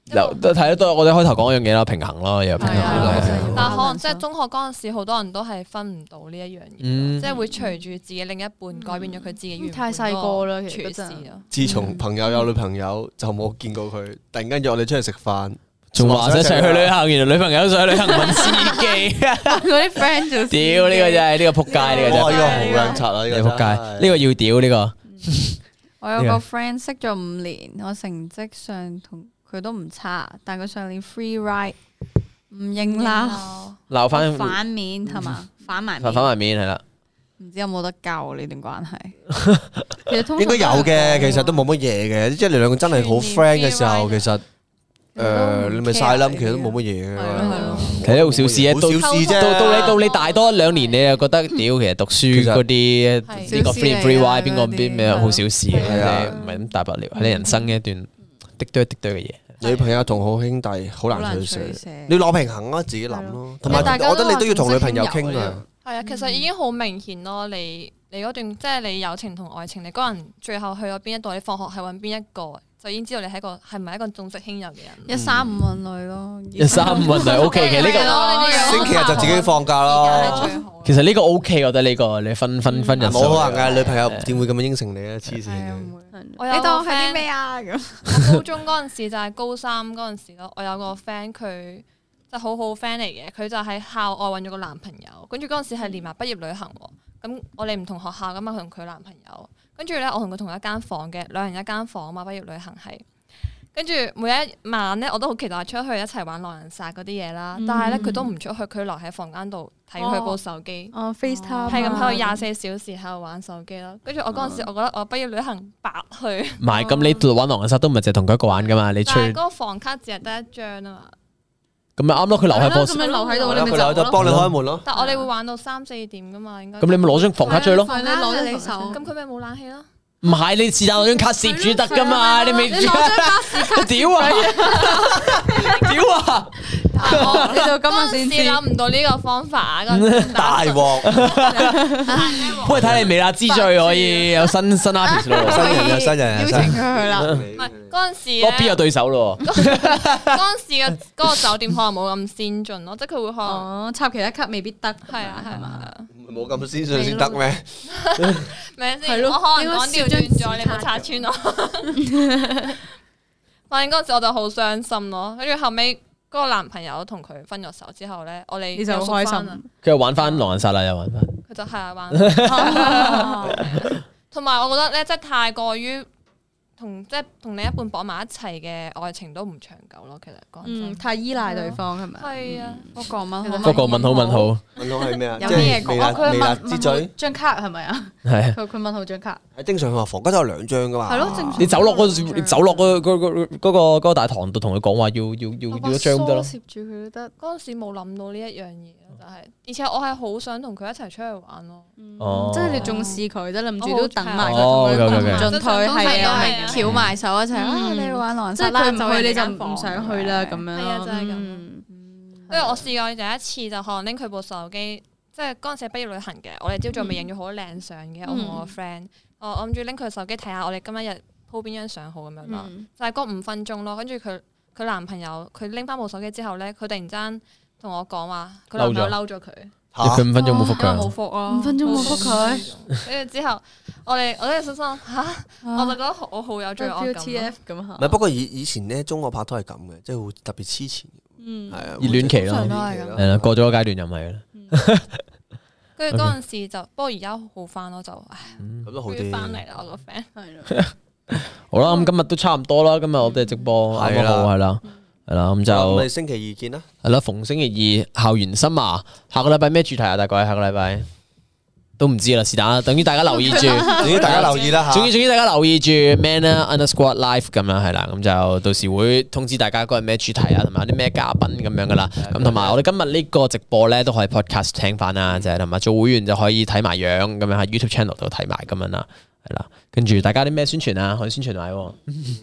都睇得都我哋開頭講嗰樣嘢啦，平衡咯，又平衡咯。 但係可能即係中學嗰陣時，好多人都係分唔到呢一樣嘢，即係會隨住自己另一半改變咗佢自己原本太細個啦，其實處事咯。 自從朋友有女朋友就冇見過佢，突然間約我哋出去食飯， 仲話一齊去旅行，原來女朋友想去旅行問司機， 嗰啲 friend 就屌呢個真係呢個撲街，呢個真係哇呢個好撚柒啊！呢個撲街，呢個要屌呢個。 我有個 friend 識咗五年，我成績上同佢都唔差，但佢上年 free ride 唔認鬧， 鬧翻反面係嘛？反埋反反埋面係啦。 唔知有冇得救呢段關係？ 其實通應該有嘅，其實都冇乜嘢嘅，即係你兩個真係好 friend 嘅時候，其實誒你咪晒冧，其實都冇乜嘢嘅。 其實好小事啊， 好小事啫。 到到你到你大多一兩年，你又覺得屌，其實讀書嗰啲呢個 free free ride 邊個邊咩好小事嘅，唔係咁大不了，係你人生嘅一段滴多滴多嘅嘢。 女朋友同好兄弟好難取捨，你攞平衡啊，自己諗咯。同埋我覺得你都要同女朋友傾啊。 係啊，其實已經好明顯咯。你你嗰段即係你友情同愛情，你嗰人最後去咗邊一度，你放學係揾邊一個，就已經知道你係一個係咪一個重色輕友嘅人。 一三五揾女咯， 一三五揾女 OK 嘅呢個星期日就自己放假咯。 其實呢個 OK，我覺得呢個你分分分人數冇可能嘅，女朋友點會咁樣應承你啊？黐線嘅。 你當係啲咩啊？咁我高中嗰陣時就係高三嗰陣時咯，我有個 friend 佢就好好 friend 嚟嘅，佢就喺校外揾咗個男朋友，跟住嗰陣時係連埋畢業旅行喎。咁我哋唔同學校噶嘛，佢同佢男朋友，跟住咧我同佢同一間房嘅，兩人一間房嘛。畢業旅行係，跟住每一晚咧我都好期待出去一齊玩狼人殺嗰啲嘢啦。但係咧佢都唔出去，佢留喺房間度睇佢部手機， 哦 FaceTime 係咁喺度廿四小時喺度玩手機咯。跟住我嗰陣時，我覺得我畢業旅行白去。 唔係咁，你玩狼人殺都唔係淨係同佢一個玩噶嘛？你出但係嗰個房卡只係得一張啊嘛。 咁咪啱咯，佢留喺房， 咁你留喺度，你咪佢留咗幫你開門咯。 但係我哋會玩到三四點噶嘛，應該。 咁你咪攞張房卡出去咯。 係你攞咗你手咁佢咪冇冷氣咯？ 唔係你是但攞張卡攝住得噶嘛？你咪你攞張巴士卡， 屌啊！屌啊！ 你就今日先知。 諗唔到呢個方法啊！嗰陣時大鑊， 不過睇你微辣之最可以有新新 artist 咯， 新人有新人有新人。 邀請佢去啦。 唔係嗰陣時我邊有對手咯？ 嗰陣時嘅嗰個酒店可能冇咁先進咯，即係佢會可能哦插其他卡未必得。 係啊係嘛。 冇咁先進先得咩？ 咪先，我可能講調轉咗，你冇拆穿我。反正嗰陣時我就好傷心咯，跟住後尾嗰個男朋友同佢分咗手之後咧，我哋你就好開心。 佢又玩翻狼人殺啦，又玩翻。 佢就係啊玩。同埋我覺得咧，即係太過於同即係同另一半綁埋一齊嘅愛情都唔長久咯。其實講真， 太依賴對方係咪？ 係啊， 嗰個問嗰個問號問號， 問號係咩啊？ 有咩嘢講？佢微辣問之嘴張卡係咪啊？ 係佢佢問號張卡。 係正常，佢話房間都有兩張噶嘛。 係咯，正常。 你走落嗰時，你走落嗰嗰嗰嗰個嗰個大堂度，同佢講話要要要要一張得咯。 攝住佢都得。 嗰陣時冇諗到呢一樣嘢咯，就係而且我係好想同佢一齊出去玩咯。 哦， 即係你重視佢，即係諗住都等埋佢哦同佢 ，OK，OK，OK 進退係啊， 係啊翹埋手一齊啊！你去玩狼人即係殺啦， 佢唔去你就人間房唔想去啦咁樣。 係啊，就係咁。 嗯因為我試過第一次就可能拎佢部手機，即係嗰陣時係畢業旅行嘅，我哋朝早咪影咗好多靚相嘅，我同我個 friend，我我諗住拎佢手機睇下我哋今日日鋪邊張相好咁樣咯，就係嗰五分鐘咯，跟住佢佢男朋友佢拎翻部手機之後咧，佢突然間同我講話，佢男朋友嬲咗佢， 佢五分鐘冇覆冇佢， 覆啊， 五分鐘冇覆佢， 跟住之後我哋我哋心諗嚇，我就覺得我好有罪惡感。 T F 咁嚇。 唔係，不過以以前咧，中學拍拖係咁嘅，即係會特別黐纏。 嗯， 係啊， 熱戀期咯， 通常都係咁係啦，過咗個階段又唔係啦。 跟住嗰陣時就，不過而家好翻咯，就唉， 咁都好終於啲。 翻嚟啦，我個 friend。 係咯。 好啦，咁今日都差唔多啦，今日我哋直播啱啱好係啦，係啦，咁就咁我哋星期二見啦。 係啦，逢星期二校園新麻，下個禮拜咩主題啊？大概下個禮拜都唔知啦，是但啦，等於大家留意住， 總之大家留意啦嚇。 總之總之大家留意住 Manner Underscore Live 咁樣係啦，咁就到時會通知大家嗰日咩主題啊，同埋有啲咩嘉賓咁樣噶啦。咁同埋我哋今日呢個直播咧都可以 podcast 聽翻啦，就係同埋做會員就可以睇埋樣咁樣喺 YouTube channel 度睇埋咁樣啦，係啦。跟住大家啲咩宣傳啊？可以宣傳埋喎。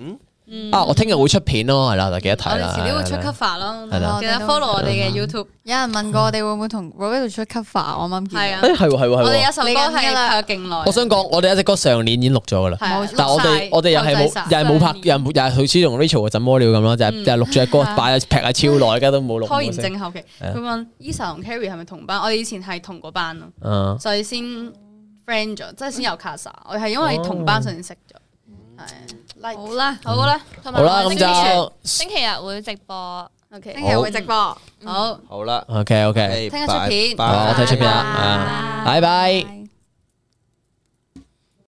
啊，我聽日會出片咯，係啦，就記得我哋睇啦。 遲啲會出 cover 咯， 係啦記得 follow 我哋嘅 YouTube。 有人問過我哋會唔會同 Roberto 出 cover，我啱啱見到。 係啊誒係喎係喎係我哋有喎。 首歌係拍咗勁耐。 我想講，我哋一隻歌上年已經錄咗噶啦， 係啊但係我哋我哋又係冇又係冇拍，又係冇又係好似同 Rachel 嘅怎麼了咁咯，就係就係錄咗隻歌擺劈係超耐，而家都冇錄。 拖延症後期， 係啊佢問 Esa 同 Carrie 係咪同班？我哋以前係同個班咯， 嗯， 所以先 friend 咗，即係先有 Casa。我係因為同班所以先識咗。係， 好啦， 好啦， 同好啦，咁埋我星期就星期日會直播。 OK， 聽日會直播。 好， 好啦， OK OK， 聽日出片拜好，我睇出片啦， 拜拜啊，拜拜。